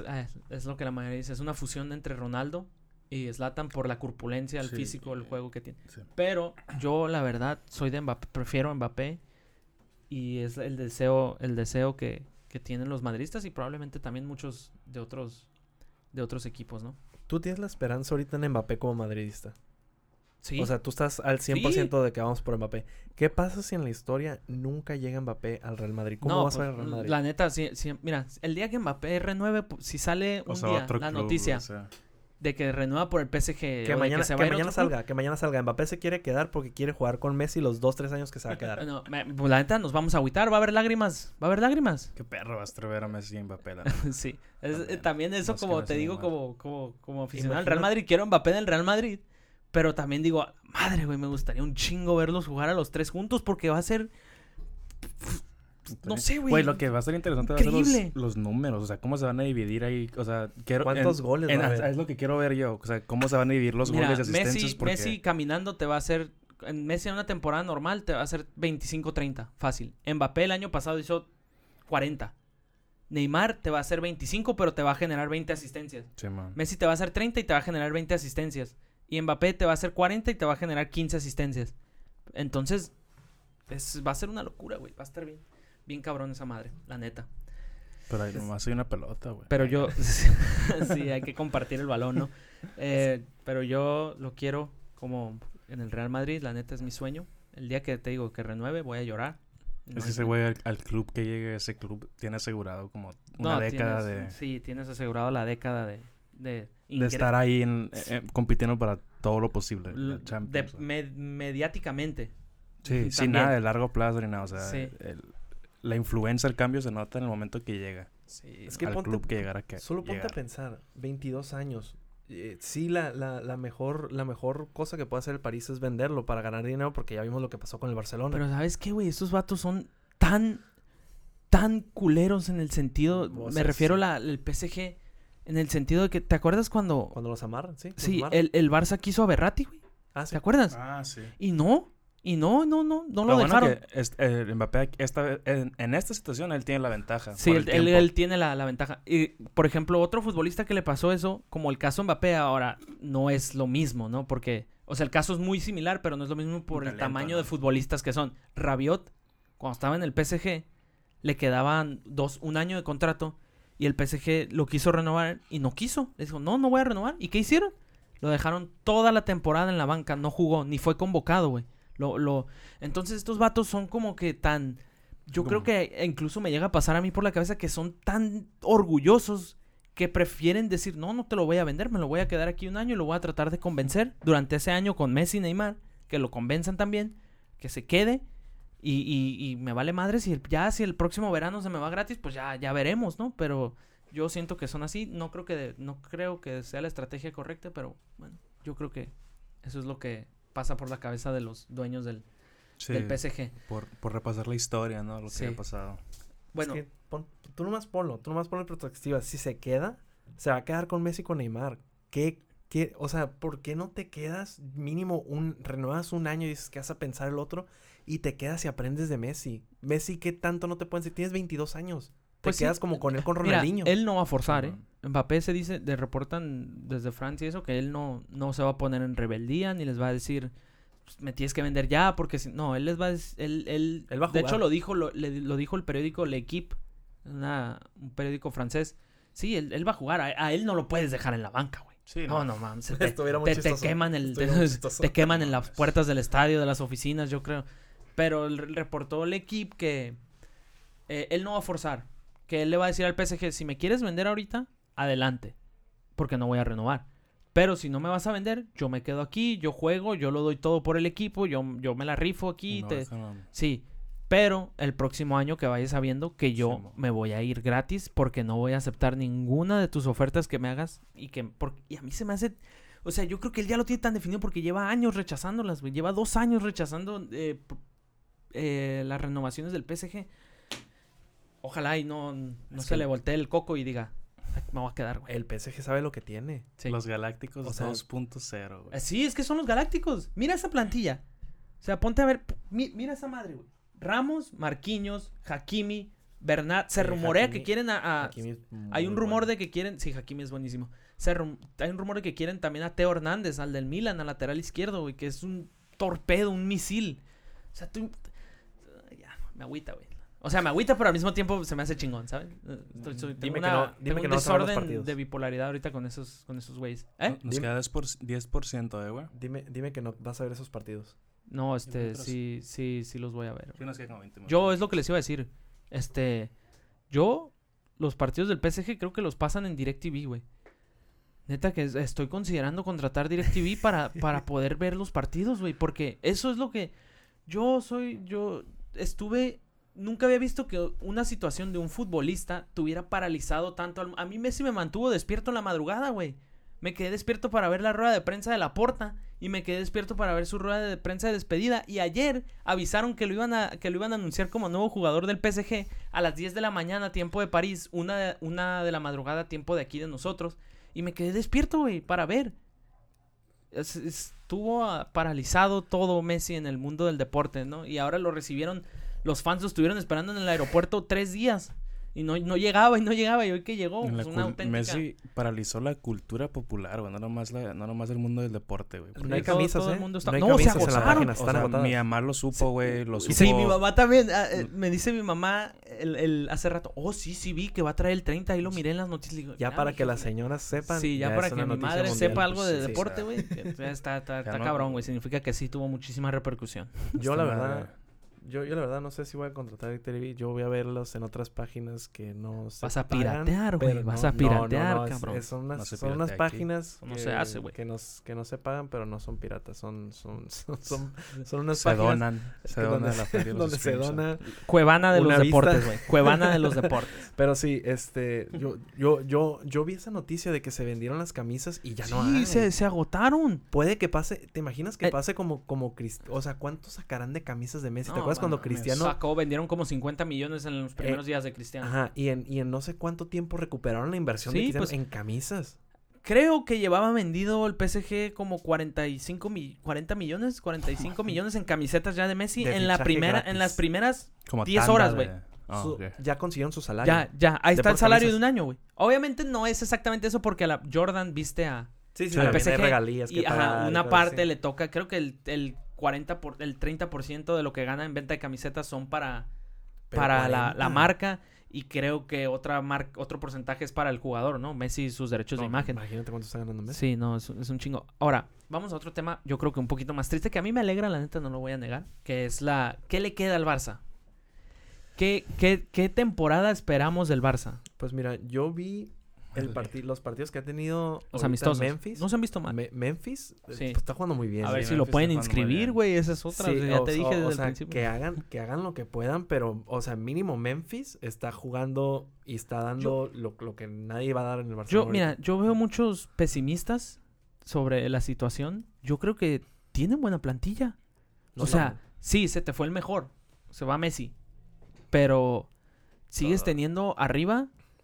lo que la mayoría dice. Es una fusión entre Ronaldo y Zlatan por la corpulencia, el físico, el juego que tiene. Sí. Pero yo, la verdad, soy de Mbappé. Prefiero a Mbappé. Y es el deseo que tienen los madridistas y probablemente también muchos de otros equipos, ¿no? ¿Tú tienes la esperanza ahorita en Mbappé como madridista? Sí. O sea, tú estás al 100% de que vamos por Mbappé. ¿Qué pasa si en la historia nunca llega Mbappé al Real Madrid? ¿Cómo vas a ver al Real Madrid? La neta, sí, mira, el día que Mbappé renueve, si sale un día la noticia de que renueva por el PSG que mañana salga. Mbappé se quiere quedar porque quiere jugar con Messi los 2-3 años que se va a quedar. No, pues la neta nos vamos a agüitar, va a haber lágrimas. Qué perro vas a ver a Messi y Mbappé. Sí, también eso, como te digo, como aficionado al Real Madrid, quiero Mbappé en el Real Madrid, pero también digo, madre, güey, me gustaría un chingo verlos jugar a los tres juntos porque va a ser... No sé, güey. Güey, lo que va a ser interesante va a ser los números. O sea, cómo se van a dividir ahí. O sea, ¿cuántos goles va a haber? Es lo que quiero ver yo. O sea, cómo se van a dividir los goles y asistencias. Messi caminando te va a hacer... Messi en una temporada normal te va a hacer 25-30. Fácil. Mbappé el año pasado hizo 40. Neymar te va a hacer 25, pero te va a generar 20 asistencias. Sí, man. Messi te va a hacer 30 y te va a generar 20 asistencias. Y Mbappé te va a hacer 40 y te va a generar 15 asistencias. Entonces, va a ser una locura, güey. Va a estar bien cabrón esa madre, la neta. Pero ahí nomás hay una pelota, güey. Pero yo... sí, hay que compartir el balón, ¿no? Pero yo lo quiero como en el Real Madrid. La neta es mi sueño. El día que te digo que renueve, voy a llorar. Es que ese güey al club que llegue, ese club tiene asegurado como una década de... Sí, tienes asegurado la década de estar ahí compitiendo para todo lo posible. La Champions, mediáticamente. Sí, sin nada de largo plazo ni nada. O sea, sí. La influencia, el cambio se nota en el momento que llega. Sí. Es que al club que llegara. Solo ponte a pensar, 22 años. Sí, la mejor cosa que puede hacer el París es venderlo para ganar dinero, porque ya vimos lo que pasó con el Barcelona. Pero ¿sabes qué, güey? Estos vatos son tan culeros en el sentido... Me refiero al PSG... En el sentido de que, ¿te acuerdas cuando los amarran? Sí, sí, el Barça quiso a Berratti, güey. Ah, sí. ¿Te acuerdas? Ah, sí. Y no lo dejaron. Que Mbappé en esta situación él tiene la ventaja. Sí, él tiene la ventaja. Y, por ejemplo, otro futbolista que le pasó eso, como el caso Mbappé, ahora no es lo mismo, ¿no? Porque, o sea, el caso es muy similar, pero no es lo mismo por el tamaño de futbolistas que son. Rabiot, cuando estaba en el PSG, le quedaban un año de contrato. Y el PSG lo quiso renovar y no quiso. Le dijo, no voy a renovar. ¿Y qué hicieron? Lo dejaron toda la temporada en la banca. No jugó, ni fue convocado, güey. Entonces estos vatos son como que tan... Yo creo que incluso me llega a pasar a mí por la cabeza que son tan orgullosos que prefieren decir, no te lo voy a vender. Me lo voy a quedar aquí un año y lo voy a tratar de convencer durante ese año con Messi y Neymar. Que lo convenzan también. Que se quede. Y me vale madre si el próximo verano se me va gratis, pues ya veremos, ¿no? Pero yo siento que son así. No creo que sea la estrategia correcta, pero bueno, yo creo que eso es lo que pasa por la cabeza de los dueños del PSG. Por repasar la historia, ¿no? Lo que ha pasado. Bueno, es que tú nomás ponlo en perspectiva. Si se queda, se va a quedar con Messi y con Neymar. O sea, ¿por qué no te quedas mínimo renuevas un año y dices que vas a pensar el otro y te quedas y aprendes de Messi? Messi, ¿qué tanto no te pueden decir? Tienes 22 años. Pues te quedas como con él, con mira, Ronaldinho. él no va a forzar, ¿eh? Mbappé se dice, reportan desde Francia eso, que él no se va a poner en rebeldía ni les va a decir, me tienes que vender ya, porque si no, él les va a decir, él va a jugar. De hecho lo dijo el periódico L'Equipe, un periódico francés. Sí, él va a jugar, a él no lo puedes dejar en la banca, güey. Sí, no mames, te queman te queman en las puertas del estadio, de las oficinas, yo creo. Pero reportó L'Equipe que él no va a forzar, que él le va a decir al PSG, si me quieres vender ahorita, adelante, porque no voy a renovar. Pero si no me vas a vender, yo me quedo aquí, yo juego, yo lo doy todo por el equipo, yo me la rifo aquí. Sí, pero el próximo año que vayas sabiendo que yo me voy a ir gratis porque no voy a aceptar ninguna de tus ofertas que me hagas y a mí se me hace... O sea, yo creo que él ya lo tiene tan definido porque lleva años rechazándolas, güey. Lleva 2 años rechazando las renovaciones del PSG. Ojalá y no se le voltee el coco y diga, me voy a quedar, güey. El PSG sabe lo que tiene. Sí. Los Galácticos 2.0, güey. Sí, es que son los Galácticos. Mira esa plantilla. O sea, ponte a ver. Mira esa madre, güey. Ramos, Marquinhos, Hakimi, Bernat. Se rumorea que quieren hay un rumor de que quieren... Sí, Hakimi es buenísimo. Hay un rumor de que quieren también a Teo Hernández, al del Milan, al lateral izquierdo, güey, que es un torpedo, un misil. O sea, ya, me agüita, güey. O sea, me agüita, pero al mismo tiempo se me hace chingón, ¿sabes? Tengo un desorden de bipolaridad ahorita con esos güeyes. Nos queda 10%, güey. Dime que no vas a ver esos partidos. No, sí los voy a ver. Sí, nos queda como 20 yo, es lo que les iba a decir. Yo, los partidos del PSG creo que los pasan en DirecTV, güey. Neta que estoy considerando contratar DirecTV para poder ver los partidos, güey. Porque eso es lo que... Nunca había visto que una situación de un futbolista tuviera paralizado tanto... A mí Messi me mantuvo despierto en la madrugada, güey. Me quedé despierto para ver la rueda de prensa de Laporta. Y me quedé despierto para ver su rueda de prensa de despedida. Y ayer avisaron que lo iban a anunciar como nuevo jugador del PSG a las 10 de la mañana, tiempo de París. Una de la madrugada, tiempo de aquí de nosotros. Y me quedé despierto, güey, para ver. Estuvo paralizado todo Messi en el mundo del deporte, ¿no? Y ahora lo recibieron... Los fans lo estuvieron esperando en el aeropuerto 3 días. Y no llegaba. Y hoy que llegó, pues una auténtica... Messi paralizó la cultura popular, güey. No nomás el mundo del deporte, güey. No hay camisas, todo el mundo está... No hay camisas en la página, están agotadas. Mi mamá lo supo, güey. Sí, mi mamá también. Me dice mi mamá hace rato, sí vi que va a traer el 30. Ahí lo miré en las noticias. Digo, ya para que las señoras sepan. Sí, ya para que mi madre sepa algo de deporte, güey. Está cabrón, güey. Significa que sí tuvo muchísima repercusión. Yo la verdad no sé si voy a contratar DirecTV. Yo voy a verlos en otras páginas que no se Vas a piratear, güey. Vas a piratear, cabrón. Son unas páginas no se hace, güey. Que no se pagan, pero no son piratas. Son unas se páginas. Se dona la feria donde se dona. Cuevana de los deportes, güey. Cuevana de los deportes. Pero sí, yo vi esa noticia de que se vendieron las camisas y ya no hay. Sí, se agotaron. Puede que pase. ¿Te imaginas que pase como o sea, ¿cuántos sacarán de camisas de Messi? ¿Te acuerdas cuando Cristiano vendieron como 50 millones en los primeros días de Cristiano? Ajá, y en no sé cuánto tiempo recuperaron la inversión de Cristiano en camisas. Creo que llevaba vendido el PSG como 40 millones en camisetas ya de Messi en las primeras como 10 horas, güey. Ya consiguieron su salario. Ya, ahí está el salario de un año, güey. Obviamente no es exactamente eso porque a la Jordan viste a al PSG regalías y una parte le toca, creo que el 30% de lo que gana en venta de camisetas son para la marca, y creo que otro porcentaje es para el jugador, ¿no? Messi y sus derechos de imagen. Imagínate cuánto está ganando Messi. Sí, no, es un chingo. Ahora, vamos a otro tema, yo creo que un poquito más triste, que a mí me alegra, la neta, no lo voy a negar, que es ¿qué le queda al Barça? ¿Qué temporada esperamos del Barça? Pues mira, yo vi los partidos que ha tenido los amistosos. Memphis. No se han visto mal. Memphis sí. Pues está jugando muy bien. A ver si lo pueden inscribir, güey. Esa es otra. Sí, ya te dije desde el principio. Que hagan lo que puedan, pero, o sea, mínimo Memphis está jugando y está dando lo que nadie va a dar en el Barcelona. Yo veo muchos pesimistas sobre la situación. Yo creo que tienen buena plantilla. Sí, se te fue el mejor. Se va Messi. Pero sigues teniendo arriba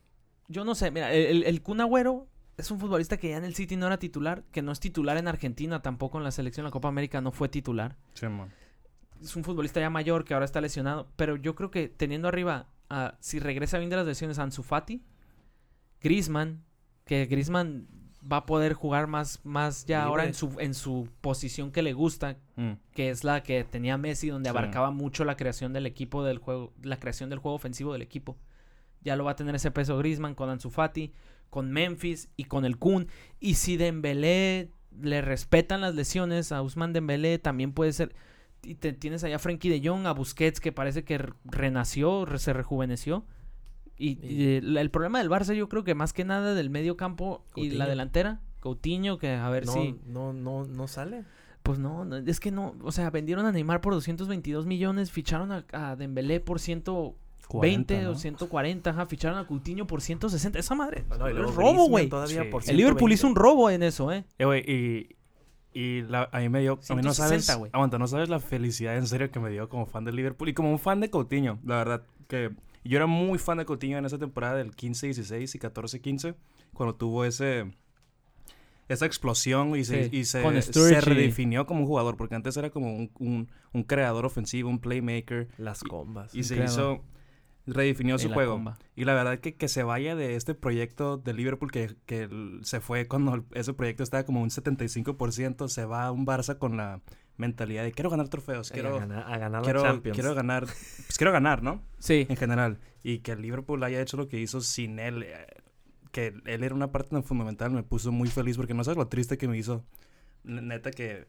yo no sé, mira, el Kun Agüero es un futbolista que ya en el City no era titular, que no es titular en Argentina, tampoco en la selección, la Copa América no fue titular. Sí, man. Es un futbolista ya mayor que ahora está lesionado, pero yo creo que teniendo arriba, si regresa bien de las lesiones, Ansu Fati, Griezmann, que Griezmann va a poder jugar más ya Libre. ahora en su posición que le gusta, que es la que tenía Messi, donde abarcaba mucho la creación del equipo del juego, la creación del juego ofensivo del equipo. Ya lo va a tener ese peso Griezmann con Ansu Fati, con Memphis y con el Kun. Y si Dembélé le respetan las lesiones a Ousmane Dembélé, también puede ser. Y tienes allá a Frenkie de Jong, a Busquets, que parece que renació, se rejuveneció. Y el problema del Barça, yo creo que más que nada del medio campo y la delantera, Coutinho, que a ver si... No sale. Pues no, es que no, o sea, vendieron a Neymar por 222 millones, ficharon a Dembélé por 120 40, ¿no? o 140, ficharon a Coutinho por 160, esa madre, No, es robo, güey. Sí. El Liverpool hizo un robo en eso, Güey, a mí me dio... A mí no 160, sabes... güey. Aguanta, no sabes la felicidad en serio que me dio como fan del Liverpool y como un fan de Coutinho. La verdad que yo era muy fan de Coutinho en esa temporada del 15-16 y 14-15, cuando tuvo esa explosión y se redefinió como un jugador, porque antes era como un creador ofensivo, un playmaker. Las combas. Y redefinió su juego. Comba. Y la verdad que se vaya de este proyecto de Liverpool que se fue cuando ese proyecto estaba como un 75%, se va a un Barça con la mentalidad de quiero ganar trofeos, quiero ganar la Champions. Quiero ganar, ¿no? Sí. En general. Y que el Liverpool haya hecho lo que hizo sin él, que él era una parte tan fundamental, me puso muy feliz porque no sabes lo triste que me hizo, neta, que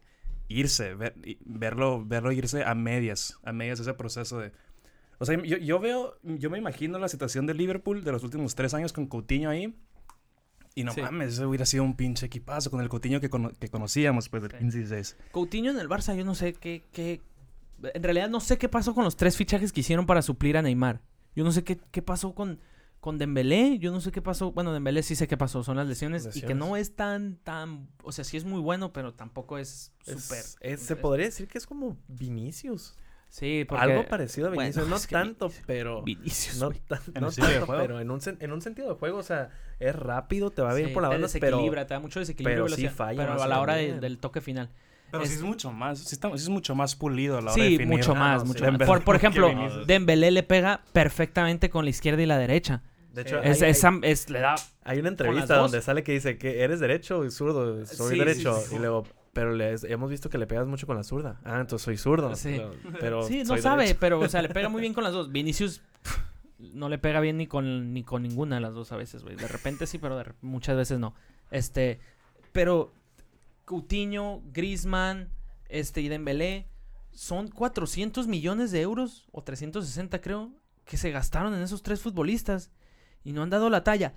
verlo irse a medias ese proceso de... O sea, yo me imagino la situación del Liverpool de los últimos 3 años con Coutinho ahí. Y no mames, eso hubiera sido un pinche equipazo con el Coutinho que conocíamos, pues, del 15-16. Coutinho en el Barça, yo no sé qué... En realidad no sé qué pasó con los 3 fichajes que hicieron para suplir a Neymar. Yo no sé qué pasó con Dembélé. Yo no sé qué pasó... Bueno, Dembélé sí sé qué pasó. Son las lesiones. Y que no es tan... O sea, sí es muy bueno, pero tampoco es súper... Se podría decir que es como Vinicius. Sí, porque... Algo parecido a Vinicius, bueno, no tanto, pero... Vinicius, no tanto, pero en un sentido de juego, o sea, es rápido, te va bien por la banda, pero... te da mucho desequilibrio, pero sí falla. Pero a la hora del toque final. Pero sí es mucho más pulido a la hora de definir. Mucho más. Por ejemplo, Dembélé le pega perfectamente con la izquierda y la derecha. De hecho, le da... Hay una entrevista donde sale que dice que eres derecho y zurdo, soy derecho, y luego... Pero hemos visto que le pegas mucho con la zurda. Ah, entonces soy zurdo. Sí, pero sí no sabe, derecho. Pero o sea, le pega muy bien con las dos. Vinicius no le pega bien ni con ninguna de las dos a veces, güey. De repente sí, pero muchas veces no. Pero Coutinho, Griezmann, y Dembélé son 400 millones de euros o 360 creo que se gastaron en esos 3 futbolistas y no han dado la talla.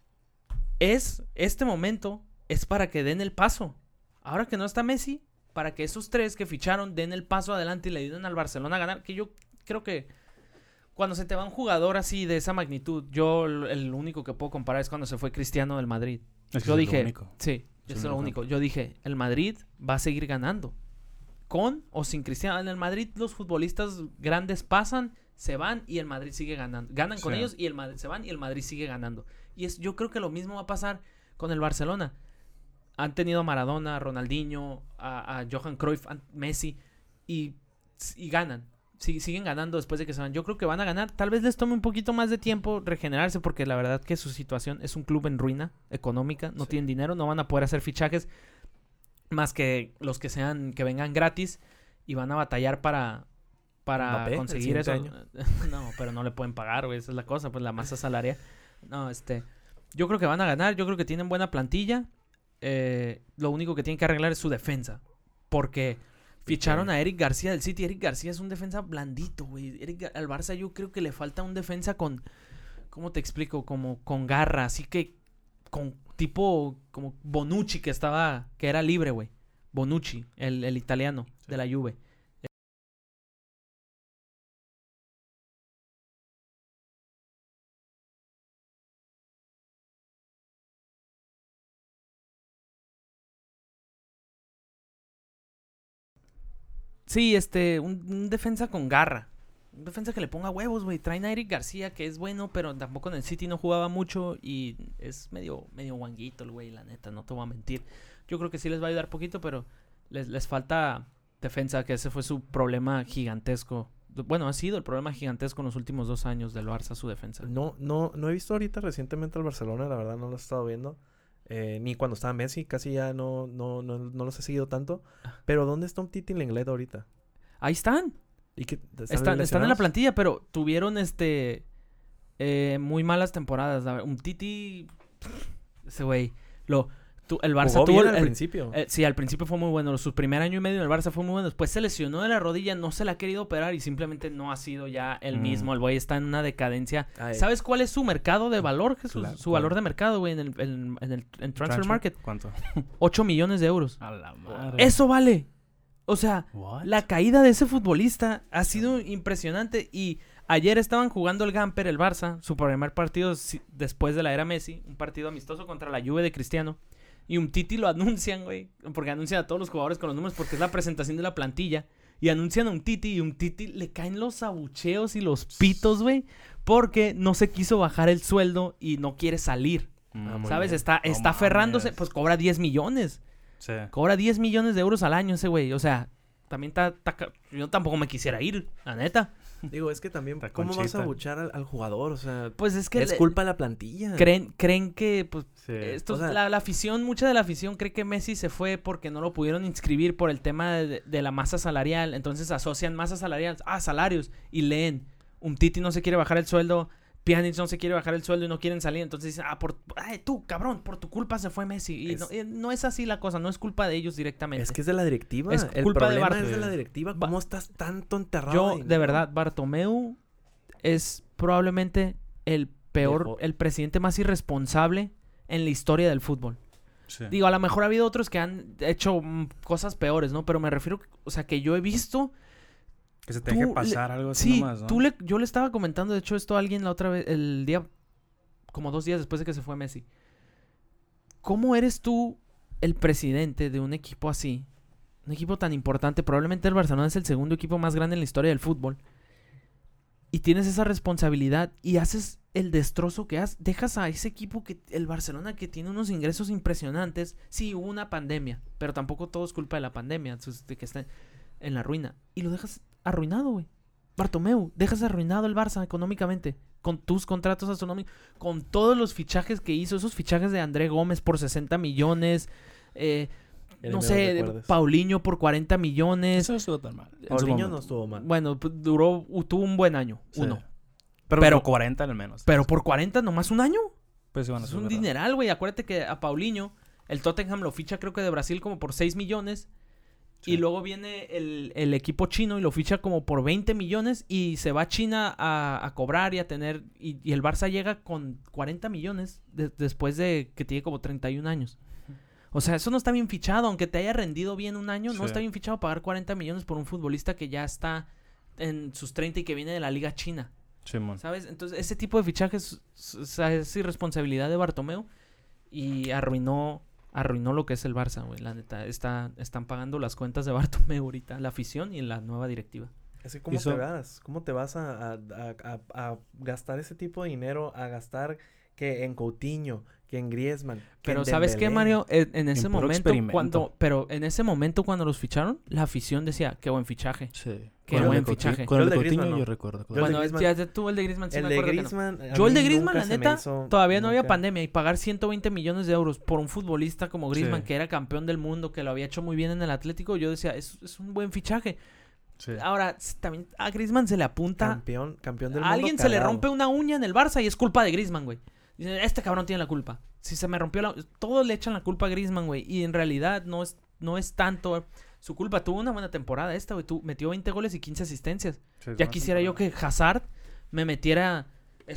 Este momento es para que den el paso. Ahora que no está Messi, para que esos 3 que ficharon den el paso adelante y le ayuden al Barcelona a ganar, que yo creo que cuando se te va un jugador así de esa magnitud, yo el único que puedo comparar es cuando se fue Cristiano del Madrid. Yo dije, sí, es lo único. Yo dije, el Madrid va a seguir ganando. Con o sin Cristiano. En el Madrid los futbolistas grandes pasan, se van y el Madrid sigue ganando. Ganan con ellos y se van y el Madrid sigue ganando. Y yo creo que lo mismo va a pasar con el Barcelona. Han tenido a Maradona, a Ronaldinho, a Johan Cruyff, a Messi y ganan. Siguen ganando después de que se van. Yo creo que van a ganar. Tal vez les tome un poquito más de tiempo regenerarse porque la verdad que su situación es un club en ruina económica. No tienen dinero, no van a poder hacer fichajes más que los que vengan gratis y van a batallar para conseguir eso. No, pero no le pueden pagar, güey. Esa es la cosa, pues la masa salarial. No, yo creo que van a ganar. Yo creo que tienen buena plantilla. Lo único que tienen que arreglar es su defensa. Porque ficharon a Eric García del City. Eric García es un defensa blandito, güey. Al Barça yo creo que le falta un defensa con... ¿Cómo te explico? Como con garra. Así que con tipo como Bonucci que era libre, güey. Bonucci, el italiano de la Juve. Sí, un defensa con garra. Un defensa que le ponga huevos, güey. Traen a Eric García, que es bueno, pero tampoco en el City no jugaba mucho. Y es medio guanguito el güey, la neta, no te voy a mentir. Yo creo que sí les va a ayudar poquito, pero les falta defensa, que ese fue su problema gigantesco. Bueno, ha sido el problema gigantesco en los últimos 2 años del Barça, su defensa. No he visto ahorita recientemente al Barcelona, la verdad no lo he estado viendo. Ni cuando estaba Messi, casi ya no los he seguido tanto. Pero ¿dónde está un Titi Lenglet ahorita? Ahí están. ¿Y qué, están en la plantilla, pero tuvieron muy malas temporadas. Un Titi, ese güey, el Barça jugó tuvo bien al principio. Sí, al principio fue muy bueno. Su primer año y medio en el Barça fue muy bueno. Después se lesionó de la rodilla, no se la ha querido operar y simplemente no ha sido ya el mismo. El güey está en una decadencia. ¿Sabes cuál es su mercado de valor, Jesús? Su valor de mercado, güey, en Transfer Market. ¿Cuánto? 8 millones de euros. A la madre. Eso vale. O sea, What? la caída de ese futbolista ha sido impresionante. Y ayer estaban jugando el Gamper, el Barça, su primer partido después de la era Messi, un partido amistoso contra la Juve de Cristiano. Y un Titi lo anuncian, güey, porque anuncian a todos los jugadores con los números, porque es la presentación de la plantilla. Y anuncian a un Titi, y un Titi le caen los abucheos y los pitos, güey, porque no se quiso bajar el sueldo y no quiere salir. ¿Sabes? Bien. Está aferrándose, pues cobra 10 millones. Sí. Cobra 10 millones de euros al año ese güey. O sea, también yo tampoco me quisiera ir, la neta. Digo, es que también, Está ¿cómo vas Conchita. a abuchar al jugador? O sea, Pues es que es culpa de la plantilla. creen que, pues, Sí. O sea, la afición, mucha de la afición cree que Messi se fue porque no lo pudieron inscribir por el tema de la masa salarial. Entonces asocian masa salarial a salarios y leen. Un Titi no se quiere bajar el sueldo, Pjanic no se quiere bajar el sueldo y no quieren salir. Entonces dicen, tú, cabrón, por tu culpa se fue Messi. Y no es así la cosa, no es culpa de ellos directamente. Es que es de la directiva. Es el culpa de problema Bartomeu. es de la directiva. ¿Cómo estás tanto enterrado Yo, ahí, de no? verdad, Bartomeu es probablemente el presidente más irresponsable en la historia del fútbol. Sí. Digo, a lo mejor ha habido otros que han hecho cosas peores, ¿no? Pero me refiero, o sea, que yo he visto... Que se tenga que pasar algo así Sí, nomás, ¿no? yo le estaba comentando, de hecho, esto a alguien la otra vez, como 2 días después de que se fue Messi. ¿Cómo eres tú el presidente de un equipo así? Un equipo tan importante, probablemente el Barcelona es el segundo equipo más grande en la historia del fútbol. Y tienes esa responsabilidad y haces el destrozo que haces. Dejas a ese equipo, el Barcelona, que tiene unos ingresos impresionantes. Sí, hubo una pandemia, pero tampoco todo es culpa de la pandemia, de que está en la ruina. Y lo dejas arruinado, güey. Bartomeu, dejas arruinado el Barça económicamente, con tus contratos astronómicos, con todos los fichajes que hizo, esos fichajes de André Gómez por 60 millones, no sé, Paulinho por 40 millones. Eso no estuvo tan mal. Paulinho no estuvo mal. Bueno, pues, tuvo un buen año, Sí. uno. Pero por 40 al menos. Pero por 40 nomás un año. Pues, bueno, Es eso un verdad. dineral, güey. Acuérdate que a Paulinho, el Tottenham lo ficha creo que de Brasil como por 6 millones. Sí. Y luego viene el equipo chino y lo ficha como por 20 millones y se va a China a cobrar y a tener... Y el Barça llega con 40 millones después de que tiene como 31 años. O sea, eso no está bien fichado. Aunque te haya rendido bien un año, Sí. no está bien fichado pagar 40 millones por un futbolista que ya está en sus 30 y que viene de la Liga China. Simón. ¿Sabes? Entonces, ese tipo de fichajes es irresponsabilidad de Bartomeu y arruinó lo que es el Barça, güey. La neta, están pagando las cuentas de Bartomeu ahorita, la afición y la nueva directiva. Es que ¿cómo te vas a gastar ese tipo de dinero? A gastar que en Coutinho, que en Griezmann. Pero ¿sabes qué, Dembélé? Mario? En ese puro momento, experimento. en ese momento cuando los ficharon, la afición decía, qué buen fichaje. Sí. Qué Con el buen de Coutinho- fichaje. Con el Yo de el de Coutinho Griezmann, yo no. recuerdo. Yo el de Bueno, Griezmann- ya tú el de Griezmann sí El me de acuerdo que no. Griezmann. Yo a el de mí Griezmann, nunca la se me neta, hizo- todavía no había nunca. pandemia y pagar 120 millones de euros por un futbolista como Griezmann, Sí. que era campeón del mundo, que lo había hecho muy bien en el Atlético, yo decía, es un buen fichaje. Sí. Ahora, también a Griezmann se le apunta, Campeón del mundo. a alguien se le cagado. rompe una uña en el Barça y es culpa de Griezmann, güey. Dicen, este cabrón tiene la culpa. Si se me rompió todos le echan la culpa a Griezmann, güey, y en realidad no es tanto su culpa. Tuvo una buena temporada esta, güey, metió 20 goles y 15 asistencias. Sí, es Ya una quisiera yo temporada. que Hazard me metiera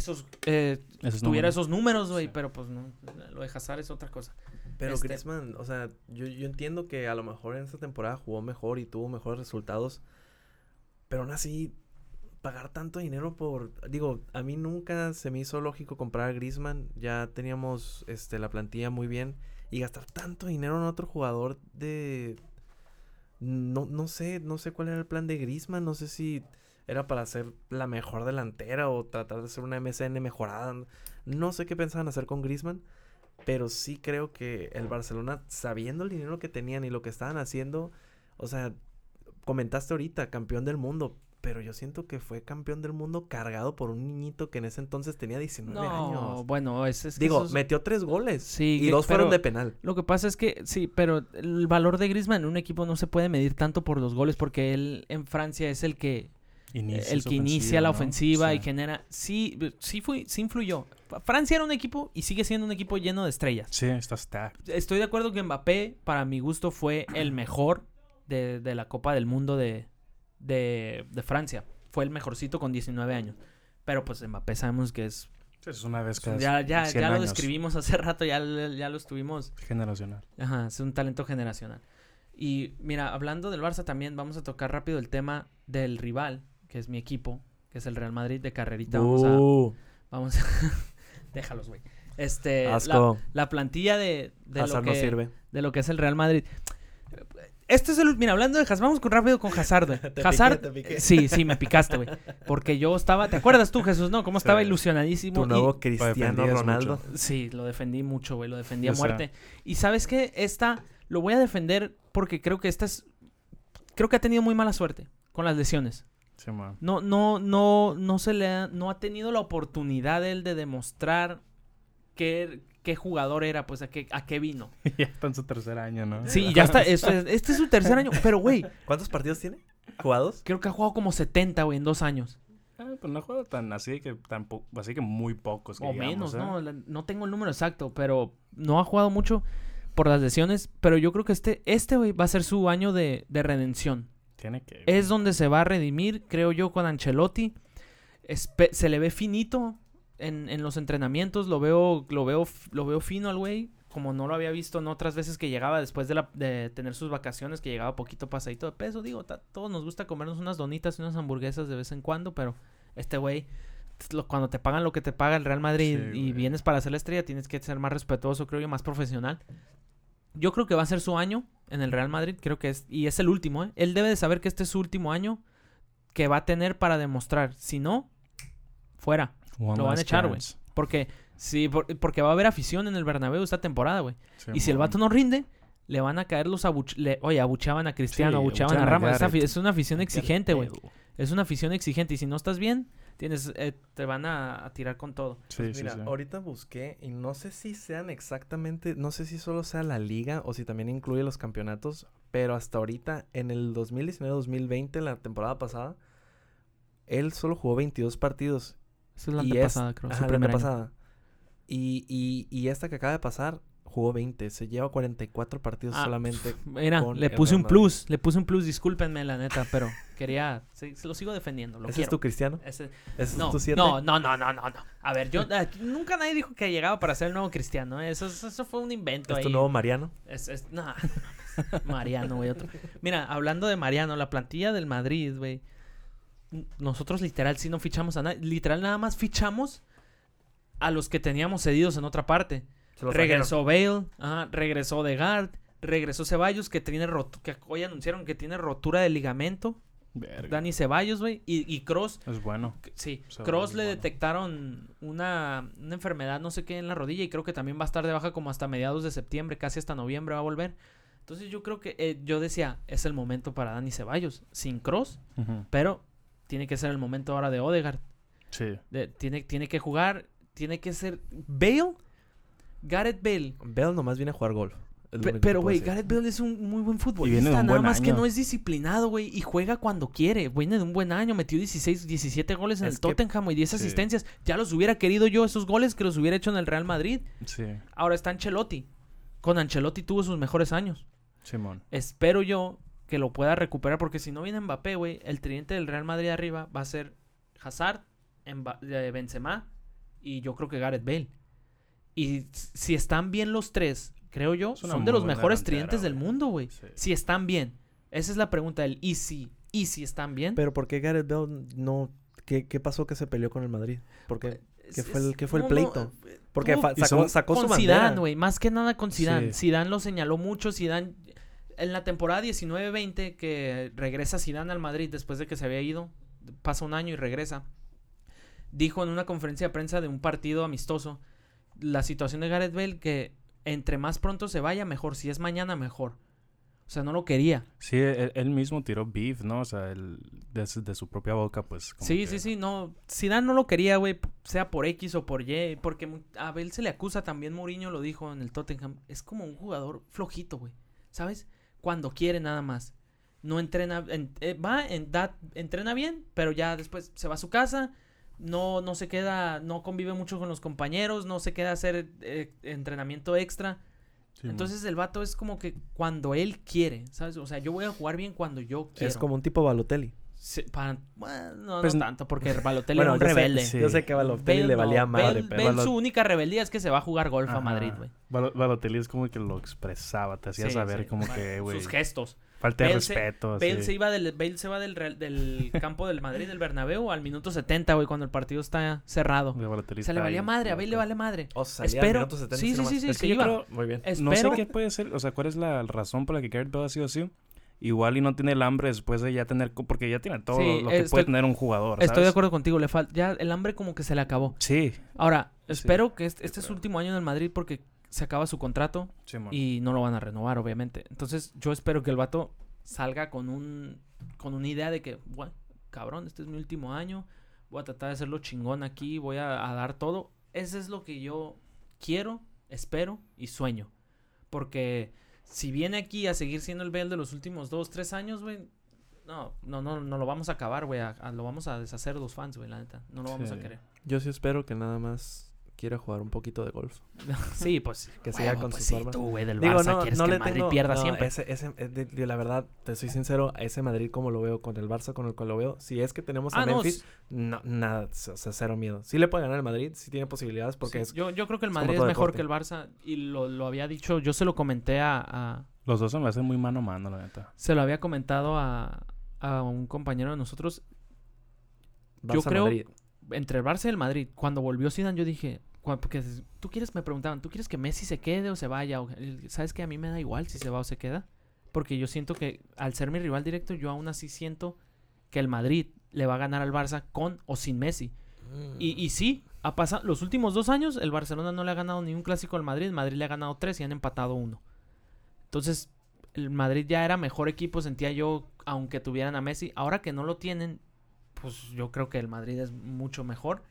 tuviera números. esos números, güey, Sí. pero pues no, lo de Hazard es otra cosa. Pero Griezmann, o sea, yo entiendo que a lo mejor en esta temporada jugó mejor y tuvo mejores resultados. Pero aún así, pagar tanto dinero digo, a mí nunca se me hizo lógico comprar a Griezmann. Ya teníamos la plantilla muy bien. Y gastar tanto dinero en otro jugador de... No sé cuál era el plan de Griezmann. No sé si era para hacer la mejor delantera o tratar de hacer una MSN mejorada. No sé qué pensaban hacer con Griezmann, pero sí creo que el Barcelona, sabiendo el dinero que tenían y lo que estaban haciendo, o sea, comentaste ahorita, campeón del mundo, pero yo siento que fue campeón del mundo cargado por un niñito que en ese entonces tenía 19 años. No, bueno, Digo, metió 3 goles. Sí, y 2 fueron de penal. Lo que pasa es que, sí, pero el valor de Griezmann en un equipo no se puede medir tanto por los goles, porque él en Francia es el que inicia la ofensiva, ¿no? Y genera... Sí influyó. Francia era un equipo y sigue siendo un equipo lleno de estrellas. Sí, está. Estoy de acuerdo que Mbappé, para mi gusto, fue el mejor de la Copa del Mundo de Francia. Fue el mejorcito con 19 años. Pero pues Mbappé sabemos que es... Es una vez cada ya 100 lo años. describimos hace rato, ya lo estuvimos... Generacional. Ajá, es un talento generacional. Y mira, hablando del Barça también, vamos a tocar rápido el tema del rival, que es mi equipo, que es el Real Madrid. De carrerita vamos a... Déjalos, güey. Asco. La plantilla de Hazard no sirve. De lo que es el Real Madrid. Mira, hablando de Hazard, vamos rápido con Hazard, güey. Hazard, te piqué. Sí, me picaste, güey. Porque yo estaba, ¿te acuerdas tú, Jesús, no? Cómo estaba ilusionadísimo. Tu nuevo Cristiano Ronaldo. Mucho. Sí, lo defendí mucho, güey, lo defendí a muerte. Y ¿sabes qué? Lo voy a defender porque creo que creo que ha tenido muy mala suerte con las lesiones. Sí, man. No ha tenido la oportunidad él de demostrar qué jugador era, pues a qué vino. Ya está en su tercer año, ¿no? Sí, ya está. Este es su tercer año. Pero, güey. ¿Cuántos partidos tiene? ¿Jugados? Creo que ha jugado como 70, güey, en 2 años. Pues no ha jugado así que muy pocos. O digamos, menos, ¿eh? No tengo el número exacto, pero no ha jugado mucho por las lesiones. Pero yo creo que este güey, va a ser su año de redención. Tiene que... Es donde se va a redimir, creo yo, con Ancelotti. Se le ve finito en los entrenamientos. Lo veo fino al güey. Como no lo había visto en otras veces que llegaba después de tener sus vacaciones, que llegaba poquito pasadito de peso. Digo, todos nos gusta comernos unas donitas y unas hamburguesas de vez en cuando, pero este güey, cuando te pagan lo que te paga el Real Madrid y vienes para hacer la estrella, tienes que ser más respetuoso, creo yo, más profesional. Yo creo que va a ser su año en el Real Madrid, creo que es el último, ¿eh? Él debe de saber que este es su último año que va a tener para demostrar. Si no, fuera. Lo van a echar, güey. Porque va a haber afición en el Bernabéu esta temporada, güey. Sí, y si el vato no rinde, le van a caer los abuchaban a Cristiano, abuchaban a Ramos. Es una afición exigente, güey. Es una afición exigente. Y si no estás bien, te van a tirar con todo. Pues mira, ahorita busqué y no sé si sean exactamente, no sé si solo sea la liga o si también incluye los campeonatos, pero hasta ahorita, en el 2019-2020, la temporada pasada, él solo jugó 22 partidos. Esa es la antepasada, creo. Ajá, la antepasada. Y esta que acaba de pasar, jugó 20. Se lleva 44 partidos solamente. Mira, le puse un plus. Discúlpenme, la neta, pero quería... Se lo sigo defendiendo. ¿Ese es tu Cristiano? ¿Ese es tu 7? No. A ver, nunca nadie dijo que llegaba para ser el nuevo Cristiano. Eso fue un invento ahí. ¿Es tu nuevo Mariano? No. Mariano, güey. Mira, hablando de Mariano, la plantilla del Madrid, güey. Nosotros literal sí no fichamos a nadie. Literal nada más fichamos a los que teníamos cedidos en otra parte. Regresó Bale, regresó Odegaard, regresó Ceballos, que hoy anunciaron que tiene rotura de ligamento. Verga. Dani Ceballos, güey. Y Kroos. Es bueno. Sí, Kroos le detectaron una enfermedad, no sé qué, en la rodilla. Y creo que también va a estar de baja como hasta mediados de septiembre, casi hasta noviembre va a volver. Entonces yo creo que, yo decía, es el momento para Dani Ceballos, sin Kroos. Pero tiene que ser el momento ahora de Odegaard. Sí. Tiene que jugar, tiene que ser... Gareth Bale. Bale nomás viene a jugar golf. Pero, güey, Gareth Bale es un muy buen futbolista. Nada más que no es disciplinado, güey. Y juega cuando quiere. Viene de un buen año. Metió 17 goles en el Tottenham y 10 asistencias. Ya los hubiera querido yo, esos goles que los hubiera hecho en el Real Madrid. Sí. Ahora está Ancelotti. Con Ancelotti tuvo sus mejores años. Simón. Espero yo que lo pueda recuperar. Porque si no viene Mbappé, güey, el tridente del Real Madrid arriba va a ser Hazard, Benzema y yo creo que Gareth Bale. Y si están bien los tres, creo yo, son de los mejores tridentes del mundo, güey. Sí. Si están bien. Esa es la pregunta del ¿y si están bien? Pero ¿por qué Gareth Bale no? ¿Qué pasó que se peleó con el Madrid? ¿Por qué? ¿Qué fue el pleito? Porque sacó su bandera. Con Zidane, güey. Más que nada con Zidane. Sí. Zidane lo señaló mucho. Zidane, en la temporada 19-20, que regresa Zidane al Madrid después de que se había ido pasa un año y regresa. Dijo en una conferencia de prensa de un partido amistoso la situación de Gareth Bale, que entre más pronto se vaya, mejor. Si es mañana, mejor. O sea, no lo quería. Sí, él mismo tiró beef, ¿no? O sea, de su propia boca, pues. Sí, no. Zidane no lo quería, güey, sea por X o por Y, porque a Bale se le acusa, también Mourinho lo dijo en el Tottenham, es como un jugador flojito, güey, ¿sabes? Cuando quiere nada más. No entrena, entrena bien, pero ya después se va a su casa, no se queda, no convive mucho con los compañeros, no se queda a hacer entrenamiento extra. Sí, entonces el vato es como que cuando él quiere, ¿sabes? O sea, yo voy a jugar bien cuando yo quiero. Es como un tipo Balotelli. Sí, no tanto, porque Balotelli era un rebelde. Yo sé que a Balotelli le valía madre. Bale su única rebeldía es que se va a jugar golf a Madrid, güey. Balotelli es como que lo expresaba, te hacía saber como que, güey. Sus gestos. Falta de respeto. Bale se va del campo del Madrid, del Bernabéu, al minuto 70, güey, cuando el partido está cerrado. Se le valía madre, a Bale le vale madre. O sea, salía al minuto 70. Sí, es que yo creo, muy bien. No sé qué puede ser, o sea, cuál es la razón por la que Gareth Bale ha sido así. Igual y no tiene el hambre después de ya tener... Porque ya tiene todo lo que puede tener un jugador, ¿sabes? Estoy de acuerdo contigo. Ya el hambre como que se le acabó. Sí. Ahora, espero que este es su último año en el Madrid porque se acaba su contrato y no lo van a renovar, obviamente. Entonces, yo espero que el vato salga con una idea de que, bueno, cabrón, este es mi último año. Voy a tratar de hacerlo chingón aquí. Voy a dar todo. Eso es lo que yo quiero, espero y sueño. Porque... si viene aquí a seguir siendo el Bale de los últimos 2-3 años, güey, no lo vamos a acabar, güey. Lo vamos a deshacer los fans, güey, la neta. No lo vamos a querer. Yo sí espero que nada más quiera jugar un poquito de golf. Sí, pues. Que siga con sus formas. Tú, güey, del Barça quieres que el Madrid pierda siempre. La verdad, te soy sincero, ese Madrid como lo veo con el Barça, con el cual lo veo, si es que tenemos a Memphis, nada, o sea, cero miedo. Sí le puede ganar el Madrid, sí tiene posibilidades porque sí, yo creo que el Madrid es mejor que el Barça y lo había dicho, yo se lo comenté a... Los dos se me hacen muy mano a mano, la neta. Se lo había comentado a un compañero de nosotros. Barça, yo creo, Madrid. Entre el Barça y el Madrid, cuando volvió Zidane, yo dije... Porque me preguntaban, ¿tú quieres que Messi se quede o se vaya? ¿Sabes qué? A mí me da igual si se va o se queda. Porque yo siento que al ser mi rival directo, yo aún así siento que el Madrid le va a ganar al Barça con o sin Messi. Y sí, ha pasado los últimos 2 años, el Barcelona no le ha ganado ni un clásico al Madrid. El Madrid le ha ganado 3 y han empatado 1. Entonces, el Madrid ya era mejor equipo, sentía yo, aunque tuvieran a Messi. Ahora que no lo tienen, pues yo creo que el Madrid es mucho mejor.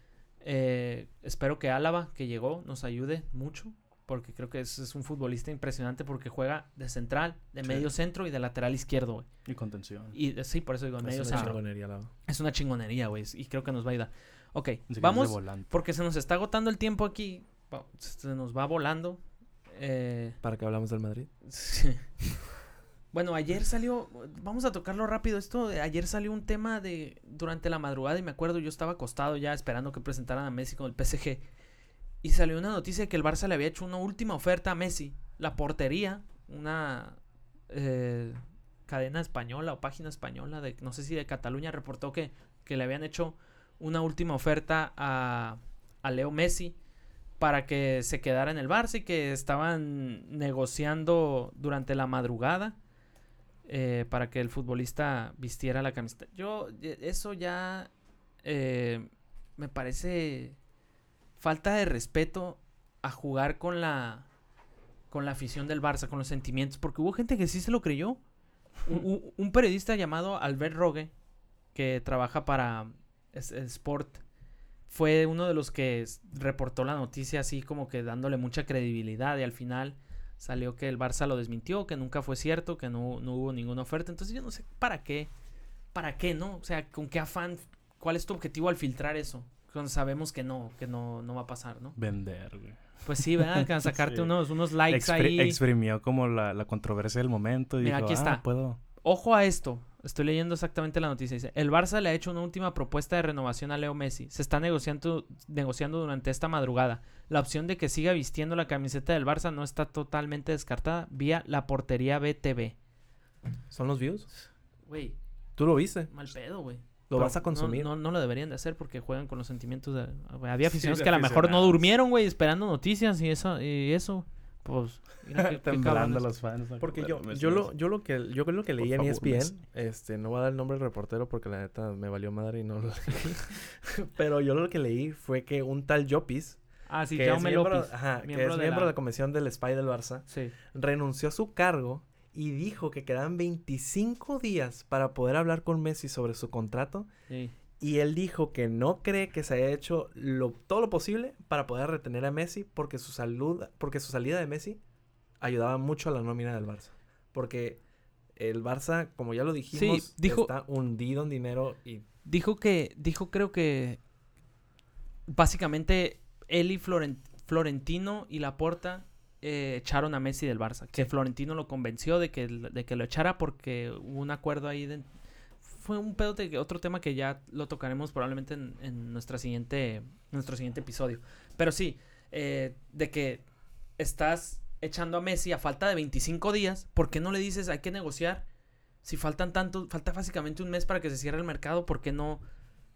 Espero que Álava, que llegó, nos ayude mucho, porque creo que es un futbolista impresionante porque juega de central, de medio centro y de lateral izquierdo, güey. Y contención. Y sí, por eso digo, medio centro. Es una chingonería, güey, y creo que nos va a ayudar. Ok, vamos, porque se nos está agotando el tiempo aquí, se nos va volando. ¿Para qué hablamos del Madrid? Sí. Bueno, ayer salió, vamos a tocarlo rápido esto, ayer salió un tema durante la madrugada y me acuerdo, yo estaba acostado ya esperando que presentaran a Messi con el PSG y salió una noticia de que el Barça le había hecho una última oferta a Messi, la portería, una cadena española o página española, no sé si de Cataluña, reportó que le habían hecho una última oferta a Leo Messi para que se quedara en el Barça y que estaban negociando durante la madrugada. Para que el futbolista vistiera la camiseta. Eso ya me parece falta de respeto a jugar con la afición del Barça, con los sentimientos, porque hubo gente que sí se lo creyó. Un periodista llamado Albert Rogue, que trabaja para Sport, fue uno de los que reportó la noticia así como que dándole mucha credibilidad, y al final salió que el Barça lo desmintió, que nunca fue cierto, que no hubo ninguna oferta. Entonces yo no sé para qué, ¿no? O sea, con qué afán, ¿cuál es tu objetivo al filtrar eso? Cuando sabemos que no va a pasar, ¿no? Vender, güey. Pues sí, ¿verdad? Que sacarte sí. unos likes ahí. Exprimió como la controversia del momento y mira, dijo, aquí está. Puedo. Ojo a esto. Estoy leyendo exactamente la noticia. Dice, el Barça le ha hecho una última propuesta de renovación a Leo Messi. Se está negociando durante esta madrugada. La opción de que siga vistiendo la camiseta del Barça no está totalmente descartada vía la portería BTV. ¿Son los views? Güey. ¿Tú lo viste? Mal pedo, güey. ¿Lo vas a consumir? No lo deberían de hacer porque juegan con los sentimientos de... Había aficionados que a lo mejor no durmieron, güey, esperando noticias y eso. Pues, temblando los fans. Porque yo lo que leí en ESPN, no voy a dar el nombre del reportero porque la neta me valió madre y no lo leí. Pero yo lo que leí fue que un tal Llopis, que es miembro de la comisión del SPY del Barça, renunció a su cargo y dijo que quedaban 25 días para poder hablar con Messi sobre su contrato. Sí. Y él dijo que no cree que se haya hecho todo lo posible para poder retener a Messi porque su salida de Messi ayudaba mucho a la nómina del Barça. Porque el Barça, como ya lo dijimos, está hundido en dinero y... Dijo creo que básicamente él y Florentino y Laporta echaron a Messi del Barça. Que Florentino lo convenció de que lo echara porque hubo un acuerdo ahí fue un pedo de otro tema que ya lo tocaremos probablemente en nuestro siguiente episodio. Pero sí, de que estás echando a Messi a falta de 25 días, ¿por qué no le dices hay que negociar? Si falta básicamente un mes para que se cierre el mercado, ¿por qué no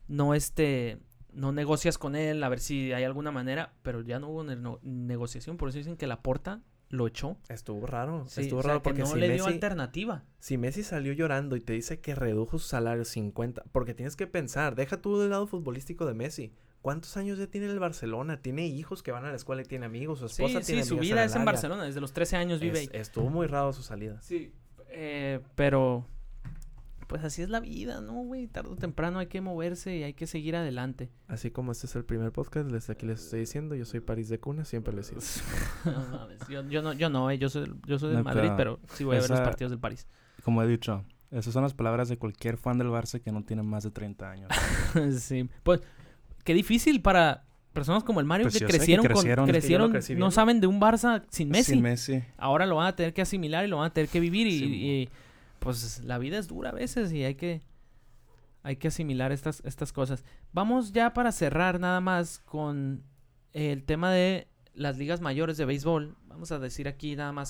negocias con él a ver si hay alguna manera? Pero ya no hubo negociación, por eso dicen que Laporta lo echó. Estuvo raro. Sí, estuvo raro porque no le dio alternativa. Si Messi salió llorando y te dice que redujo su salario 50, porque tienes que pensar, deja tú del lado futbolístico de Messi. ¿Cuántos años ya tiene el Barcelona? Tiene hijos que van a la escuela y tiene amigos, su esposa tiene amigos. Su vida es en Barcelona, desde los 13 años vive ahí. Estuvo muy raro su salida. Sí, pero pues así es la vida, ¿no, güey? Tarde o temprano hay que moverse y hay que seguir adelante. Así como este es el primer podcast, aquí les estoy diciendo, yo soy París de cuna, siempre les digo. No mames, yo soy del Madrid, pero sí voy a ver los partidos del París. Como he dicho, esas son las palabras de cualquier fan del Barça que no tiene más de 30 años. Sí, pues qué difícil para personas como el Mario pues que crecieron no saben de un Barça sin Messi. Ahora lo van a tener que asimilar y lo van a tener que vivir y pues la vida es dura a veces y hay que asimilar estas cosas. Vamos ya para cerrar nada más con el tema de las ligas mayores de béisbol. Vamos a decir aquí nada más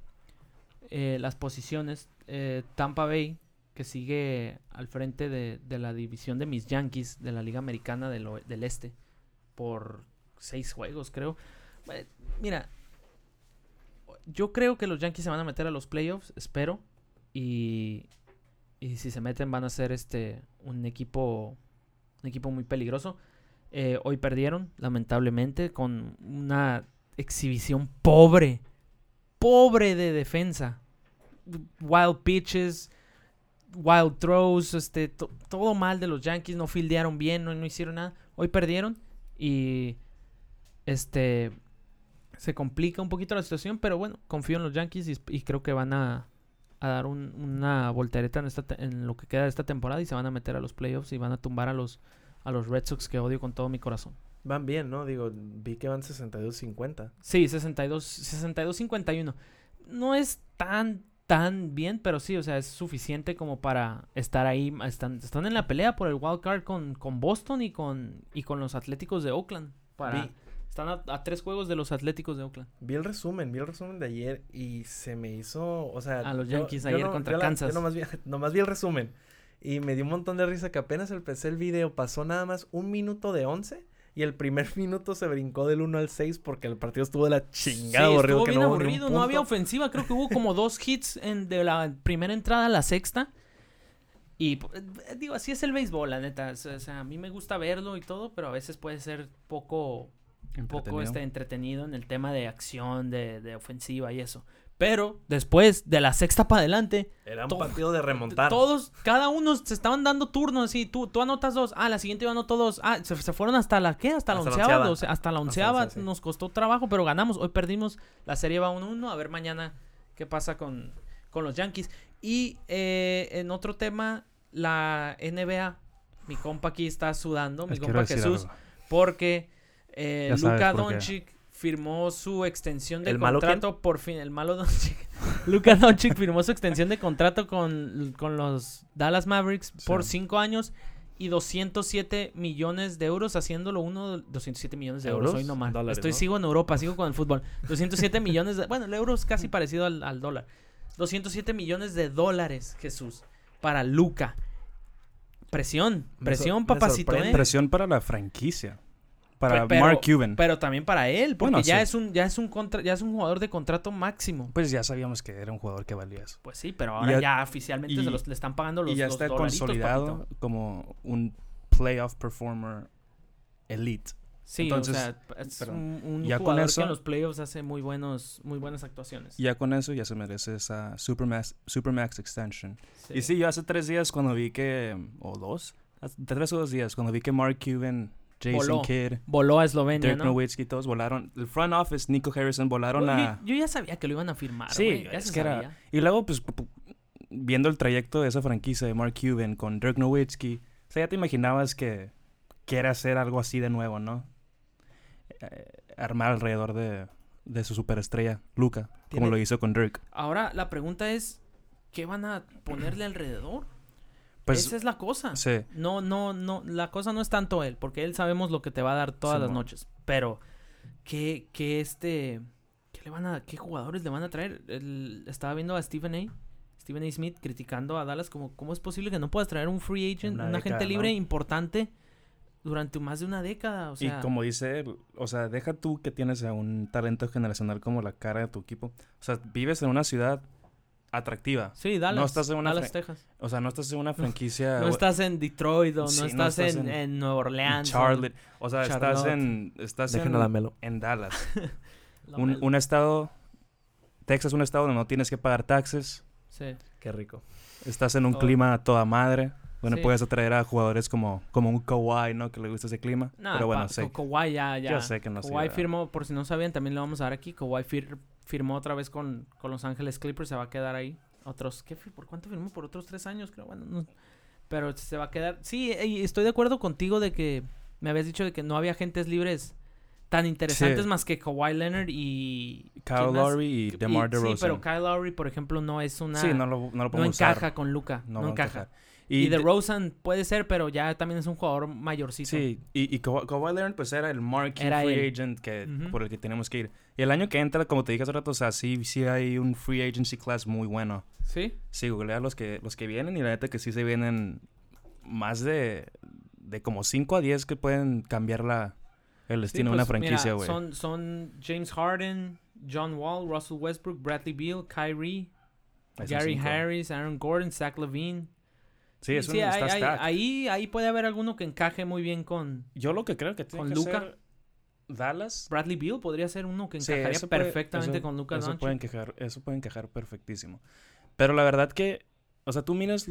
las posiciones. Tampa Bay, que sigue al frente de la división de mis Yankees de la Liga Americana del Este por 6 juegos, creo. Mira, yo creo que los Yankees se van a meter a los playoffs, espero. Y si se meten van a ser un equipo muy peligroso. Hoy perdieron, lamentablemente, con una exhibición pobre de defensa. Wild pitches, wild throws, todo mal de los Yankees. No fildearon bien, no hicieron nada. Hoy perdieron y se complica un poquito la situación, pero bueno, confío en los Yankees y creo que van a dar una voltereta en lo que queda de esta temporada y se van a meter a los playoffs y van a tumbar a los Red Sox, que odio con todo mi corazón. Van bien, ¿no? Digo, vi que van 62-50. Sí, 62-51. No es tan bien, pero sí, o sea, es suficiente como para estar ahí. Están en la pelea por el wild card con Boston y con los Atléticos de Oakland. Están a 3 juegos de los Atléticos de Oakland. Vi el resumen de ayer y se me hizo, o sea... A los Yankees ayer contra Kansas. Yo nomás vi el resumen y me dio un montón de risa que apenas empecé el video pasó nada más 1 minuto de 11 y el primer minuto se brincó del 1 al 6 porque el partido estuvo de la chingada, aburrido. Estuvo bien aburrido, no había ofensiva, creo que hubo como 2 hits de la primera entrada a la sexta. Y digo, así es el béisbol, la neta. O sea, a mí me gusta verlo y todo, pero a veces puede ser poco entretenido en el tema de acción, de ofensiva y eso. Pero después de la sexta para adelante, era un partido de remontar. Cada uno se estaban dando turnos así, tú anotas 2, la siguiente yo anoto 2, se fueron hasta la ¿qué? Hasta la onceava. Hasta la onceava sí. Nos costó trabajo, pero ganamos. Hoy perdimos, la serie va 1-1, a ver mañana qué pasa con los Yankees. Y en otro tema, la NBA, mi compa aquí está sudando, mi compa Jesús, porque Luka Doncic firmó su extensión de contrato por fin. El malo Doncic. Luka Doncic firmó su extensión de contrato con los Dallas Mavericks por 5 años y 207 millones de euros, haciéndolo 207 millones de euros. Hoy no mal. Sigo en Europa, sigo con el fútbol. 207 millones bueno, el euro es casi parecido al dólar. 207 millones de dólares, Jesús, para Luka. Presión, papacito, Presión para la franquicia. Para Mark Cuban. Pero también para él, porque Bueno, ya sí. es un jugador de contrato máximo. Pues ya sabíamos que era un jugador que valía eso. Pues sí, pero ahora ya oficialmente le están pagando los y ya los está dolaritos, consolidado papito. como un playoff performer elite. Sí, Entonces, o sea, es un ya con jugador eso- que en los playoffs hace muy buenas actuaciones. Ya con eso ya se merece esa Supermax extension. Sí. Y sí, yo hace 3 días cuando vi que... O 2. 3 o 2 días cuando vi que Mark Cuban, Jason Voló. Kidd, Voló a Eslovenia, Dirk ¿no? Nowitzki, todos volaron. El front office, Nico Harrison, volaron a... Yo ya sabía que lo iban a firmar, Sí, güey. Ya es se que era... sabía. Y luego, pues, viendo el trayecto de esa franquicia de Mark Cuban con Dirk Nowitzki, o sea, ya te imaginabas que quiere hacer algo así de nuevo, ¿no? Armar alrededor de su superestrella, Luka, como lo hizo con Dirk. Ahora, la pregunta es, ¿qué van a ponerle alrededor? Pues, Esa es la cosa. sí. No, la cosa no es tanto él, porque él sabemos lo que te va a dar todas las noches. Pero, ¿qué jugadores le van a traer? Estaba viendo a Stephen A. Smith criticando a Dallas como, ¿cómo es posible que no puedas traer un free agent, un agente libre importante durante más de una década? O sea, y como dice él, o sea, deja tú que tienes a un talento generacional como la cara de tu equipo. O sea, vives en una ciudad atractiva. sí, Dallas, no estás en una Dallas, Texas. O sea, no estás en una franquicia... No estás en Detroit o Sí, no no estás estás en Nueva Orleans. Charlotte. O sea, Charlotte. estás Dejen a la Melo. en Dallas. La un estado... Texas es un estado donde no tienes que pagar taxes. Sí. Qué rico. Estás en un Todo. clima a toda madre. Bueno, Sí. puedes atraer a jugadores como un Kawhi, ¿no? Que le gusta ese clima. Nah, pero bueno, sé. Kawhi ya. Yo sé que no sé. Kawhi firmó, por si no sabían, también lo vamos a dar aquí. Kawhi firmó otra vez con Los Ángeles Clippers, se va a quedar ahí. ¿Por cuánto firmó? Por otros 3 años, creo. Bueno, no, pero se va a quedar. Sí, y estoy de acuerdo contigo de que me habías dicho de que no había agentes libres tan interesantes Sí. más que Kawhi Leonard y Kyle ¿quién más? Lowry y DeMar DeRozan. Sí, pero Kyle Lowry, por ejemplo, no es una... Sí, no lo no podemos encaja usar. con Luka, no va a encaja. encajar. Y DeRozan puede ser, pero ya también es un jugador mayorcito. Sí, y Kawhi Leonard pues era el marquee Era free él. agent que, Ujú. por el que tenemos que ir. Y el año que entra, como te dije hace rato, o sea, sí hay un free agency class muy bueno. ¿Sí? Sí, googlea los que vienen y la neta que sí se vienen más de como 5 a 10 que pueden cambiar el destino de una franquicia, güey. Son James Harden, John Wall, Russell Westbrook, Bradley Beal, Kyrie, Ahí son Gary 5. Harris, Aaron Gordon, Zach LaVine. Sí, es está stacked. Ahí puede haber alguno que encaje muy bien con Yo lo que creo que tiene con que Luka. ser Dallas. Bradley Beal. Podría ser uno que Sí, encajaría eso puede- perfectamente eso- con Luka eso Doncic. puede encajar perfectísimo. Pero la verdad que, o sea, tú miras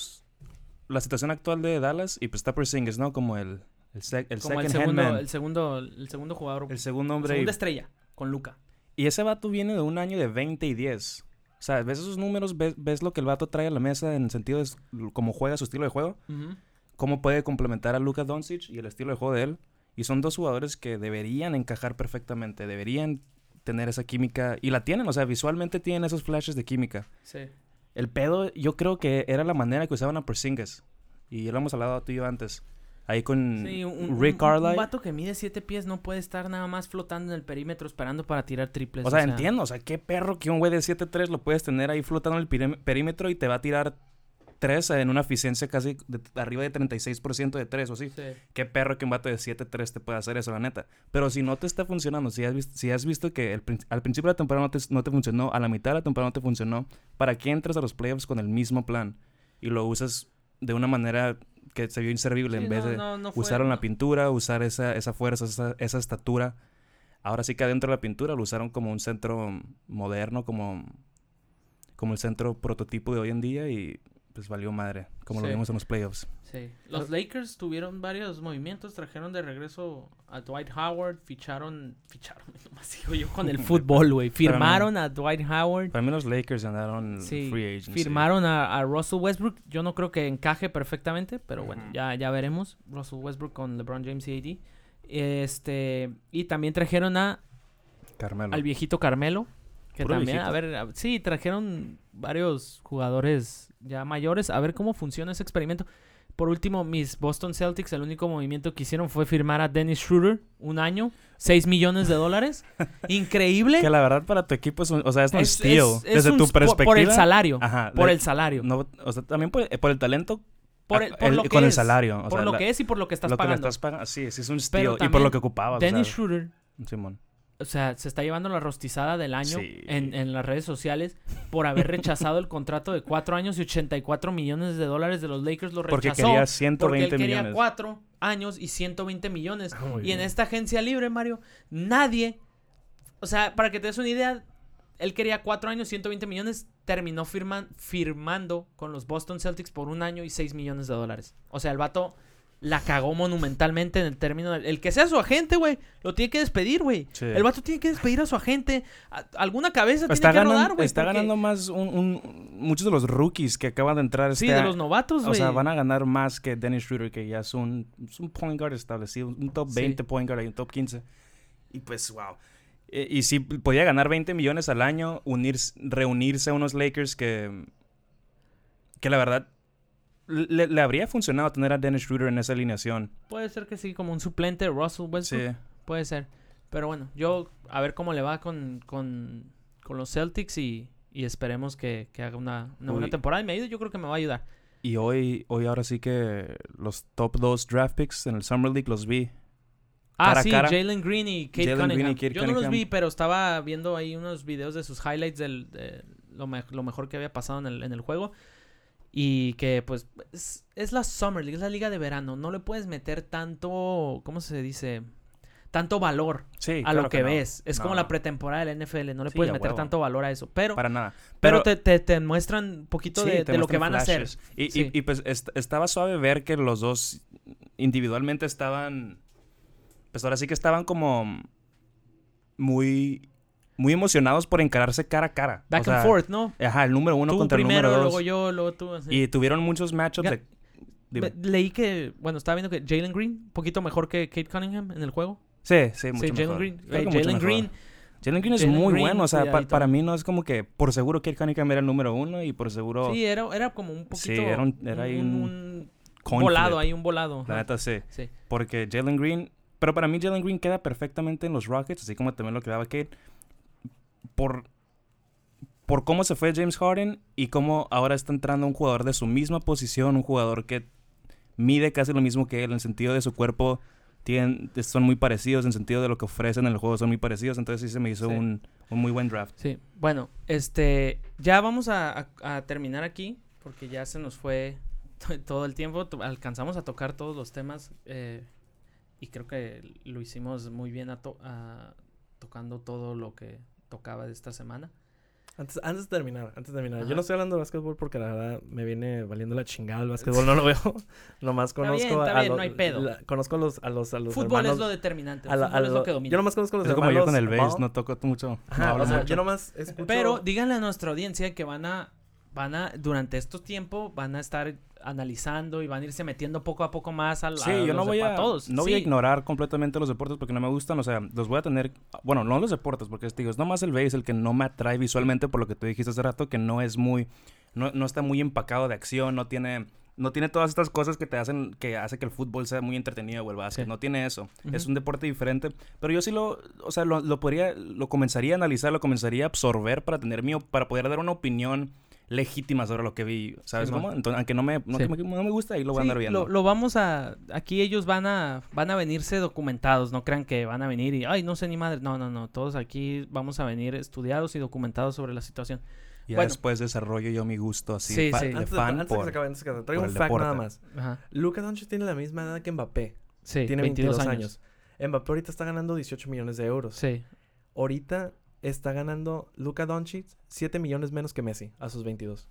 la situación actual de Dallas y pues está Porzingis, ¿no? Como el Como second el hand man. segundo jugador. El segundo La hombre. segunda estrella con Luka. Y ese vato viene de un año de 20 y 10. O sea, ves esos números, ves lo que el vato trae a la mesa en el sentido de cómo juega su estilo de juego, cómo puede complementar a Luka Doncic y el estilo de juego de él. Y son dos jugadores que deberían encajar perfectamente, deberían tener esa química. Y la tienen, o sea, visualmente tienen esos flashes de química. Sí. El pedo, yo creo que era la manera que usaban a Porzingis. Y ya lo hemos hablado tú y yo antes. Ahí con Sí, Rick Carlisle. un vato que mide 7 pies no puede estar nada más flotando en el perímetro esperando para tirar triples. O sea, entiendo. O sea, qué perro que un güey de 7'3 lo puedes tener ahí flotando en el perímetro y te va a tirar 3 en una eficiencia casi arriba de 36% de 3 o así. Sí. Qué perro que un vato de 7'3 te puede hacer eso, la neta. Pero si no te está funcionando, si has visto que al principio de la temporada no te funcionó, a la mitad de la temporada no te funcionó, ¿para qué entras a los playoffs con el mismo plan? Y lo usas de una manera que se vio inservible Sí, en vez de no fue- usaron no. la pintura, usar esa fuerza, esa estatura. Ahora sí que adentro de la pintura lo usaron como un centro moderno, como el centro prototipo de hoy en día y pues valió madre, como lo Sí. vimos en los playoffs. Sí. Los Lakers tuvieron varios movimientos, trajeron de regreso a Dwight Howard, ficharon, nomás sigo yo con el fútbol, güey. Firmaron a Dwight Howard. Para mí los Lakers ganaron Sí, free agency. firmaron a Russell Westbrook. Yo no creo que encaje perfectamente, pero bueno, Ujú. ya veremos. Russell Westbrook con LeBron James y AD. Y también trajeron Carmelo. al viejito Carmelo. Que Puro también, viejito. sí, trajeron varios jugadores ya mayores. A ver cómo funciona ese experimento. Por último, mis Boston Celtics, el único movimiento que hicieron fue firmar a Dennis Schroeder, un año, $6 millones. Increíble. Que la verdad para tu equipo es un steal. Es Desde un tu spo- perspectiva. por el salario. Ajá. Por el salario. No, o sea, también por el talento Por lo que con el es, salario. Por lo que es y por lo que estás pagando. Sí, es un steal. Y por lo que ocupabas. Dennis Schroeder, Simón. o sea, se está llevando la rostizada del año Sí. en las redes sociales por haber rechazado el contrato de 4 años y $84 millones de los Lakers. Lo rechazó Porque quería 120 porque él quería millones. 4 años y 120 millones. Muy Y bien. en esta agencia libre, Mario, nadie... O sea, para que te des una idea, él quería 4 años, 120 millones, terminó firmando con los Boston Celtics por 1 año y $6 millones. O sea, el vato la cagó monumentalmente en el término. El que sea su agente, güey, lo tiene que despedir, güey. Sí. El vato tiene que despedir a su agente. Alguna cabeza Está tiene que ganando, rodar, güey. está porque- ganando más muchos de los rookies que acaban de entrar. Sí, de los novatos, güey. O sea, van a ganar más que Dennis Schroeder, que ya es un point guard establecido. Un top 20 Sí. point guard y un top 15. Y pues, wow. Y si podía ganar 20 millones al año, reunirse a unos Lakers que la verdad le habría funcionado tener a Dennis Schroeder en esa alineación. Puede ser que sí, como un suplente de Russell Westbrook. Sí. Puede ser. Pero bueno, yo a ver cómo le va con los Celtics y esperemos que haga una buena Uy. temporada. Y me ayude, yo creo que me va a ayudar. Y hoy ahora sí que los top 2 draft picks en el Summer League los vi. Cara a Sí, cara. Jalen Green y Kate Jalen Green Cunningham. y Kate Yo no los Cunningham. vi, pero estaba viendo ahí unos videos de sus highlights de lo mejor que había pasado en el juego. Y que pues es la Summer League, es la liga de verano. No le puedes meter tanto, ¿cómo se dice? Tanto valor Sí, a claro lo que no. ves. Es No. como la pretemporada del NFL. No le Sí, puedes a meter huevo. tanto valor a eso. Pero Para nada. te muestran un poquito Sí, de te lo que muestran van flashes. a hacer. Y, Sí. y pues estaba suave ver que los dos individualmente estaban... Pues ahora sí que estaban como muy emocionados por encararse cara a cara. Back O sea, and forth, ¿no? Ajá, el número 1 Tú contra primero, el número 2. luego yo, luego tú. Así. Y tuvieron muchos matchups Ga- de... Dime. Leí que, bueno, estaba viendo que Jalen Green, un poquito mejor que Kate Cunningham en el juego. Sí, mucho Sí, mejor. Jalen Green. Creo que mucho Jalen mejor. Green. Jalen Green es Jalen muy Green, bueno. O sea, cuidadito. para mí no es como que por seguro Kate Cunningham era el número 1 y por seguro... Sí, era como un poquito. Sí, era ahí un coin volado, flip. ahí un volado. La ajá. neta sí. Sí. Porque Jalen Green... Pero para mí Jalen Green queda perfectamente en los Rockets, así como también lo quedaba Kate. Por cómo se fue James Harden y cómo ahora está entrando un jugador de su misma posición, un jugador que mide casi lo mismo que él, en el sentido de su cuerpo son muy parecidos, en el sentido de lo que ofrecen en el juego son muy parecidos, entonces sí se me hizo Sí. un muy buen draft. Sí, bueno, ya vamos a terminar aquí, porque ya se nos fue todo el tiempo, alcanzamos a tocar todos los temas, y creo que lo hicimos muy bien tocando todo lo que tocaba de esta semana. Antes de terminar, Ajá. yo no estoy hablando de básquetbol porque la verdad me viene valiendo la chingada el básquetbol, no lo veo. Nomás Está bien, conozco está bien, no hay pedo. Conozco a los Fútbol hermanos. es lo determinante, a la- fútbol a es lo- lo que domina. Yo nomás conozco a los Es como yo hermanos con el bass, Ball. no toco mucho. Ajá, no hablo o sea, mucho. yo nomás escucho... Pero díganle a nuestra audiencia que van a durante estos tiempos, van a estar analizando y van a irse metiendo poco a poco más Sí, yo no voy a todos. no voy a Sí. ignorar completamente los deportes porque no me gustan, o sea, los voy a tener, bueno, no los deportes porque digo, es nomás el base el que no me atrae visualmente por lo que tú dijiste hace rato que no es muy no está muy empacado de acción, no tiene todas estas cosas que hace que el fútbol sea muy entretenido o el básquet, Sí. no tiene eso. Ujú. Es un deporte diferente, pero yo sí lo comenzaría a analizar, lo comenzaría a absorber para para poder dar una opinión legítima sobre lo que vi, ¿sabes Sí, cómo? man. Entonces, aunque no me gusta, ahí lo voy a Sí, andar viendo. lo vamos a... Aquí ellos van a venirse documentados, no crean que van a venir y... Ay, no sé ni madre. No. Todos aquí vamos a venir estudiados y documentados sobre la situación. Ya Bueno. después desarrollo yo mi gusto así Sí, sí. de Antes fan de que por... se acabe, traigo por un el fact deporte. nada más. Ajá. Luka Doncic tiene la misma edad que Mbappé. Sí, Tiene 22 años. Mbappé ahorita está ganando 18 millones de euros. Sí. Ahorita está ganando Luka Doncic 7 millones menos que Messi a sus 22.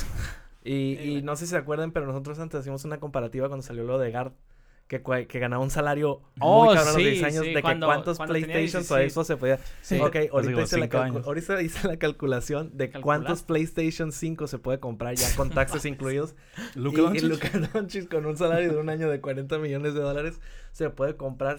Y no sé si se acuerdan, pero nosotros antes hacíamos una comparativa cuando salió lo de Gard, que ganaba un salario Oh, muy cabrón a los sí, 10 años, sí, de cuando que cuántos tenía PlayStations o 16. Xbox se podía... Sí. Ok, ahorita como hice, la 5 años. ahorita hice la calculación de cuántos PlayStation 5 se puede comprar ya con taxes incluidos. Luka Y Doncic. Luka Doncic con un salario de un año de 40 millones de dólares se puede comprar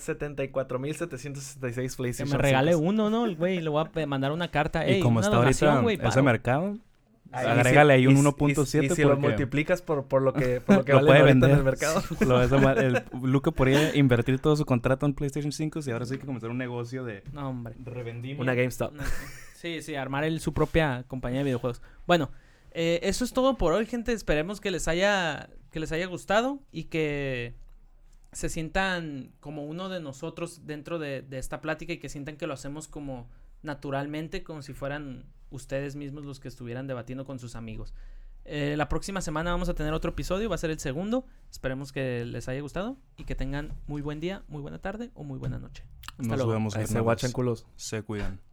74,766 Que PlayStation me regale 5. uno, ¿no? El güey, le voy a mandar una carta. Ey, Y como una está donación, ahorita güey, ese paro. mercado, Ahí agrégale ahí un y- 1.7 y si lo porque multiplicas por lo que lo vale puede ahorita vender. en el mercado. Luka podría invertir todo su contrato en PlayStation 5 y ahora sí hay que comenzar un negocio de No, hombre. revendimiento. Una GameStop. Sí, armar su propia compañía de videojuegos. Bueno, eso es todo por hoy, gente. Esperemos que les haya que les haya gustado y que se sientan como uno de nosotros dentro de esta plática y que sientan que lo hacemos como naturalmente, como si fueran ustedes mismos los que estuvieran debatiendo con sus amigos. La próxima semana vamos a tener otro episodio, va a ser el segundo. Esperemos que les haya gustado y que tengan muy buen día, muy buena tarde o muy buena noche. Nos vemos. Ahí se guachan culos. Se cuidan.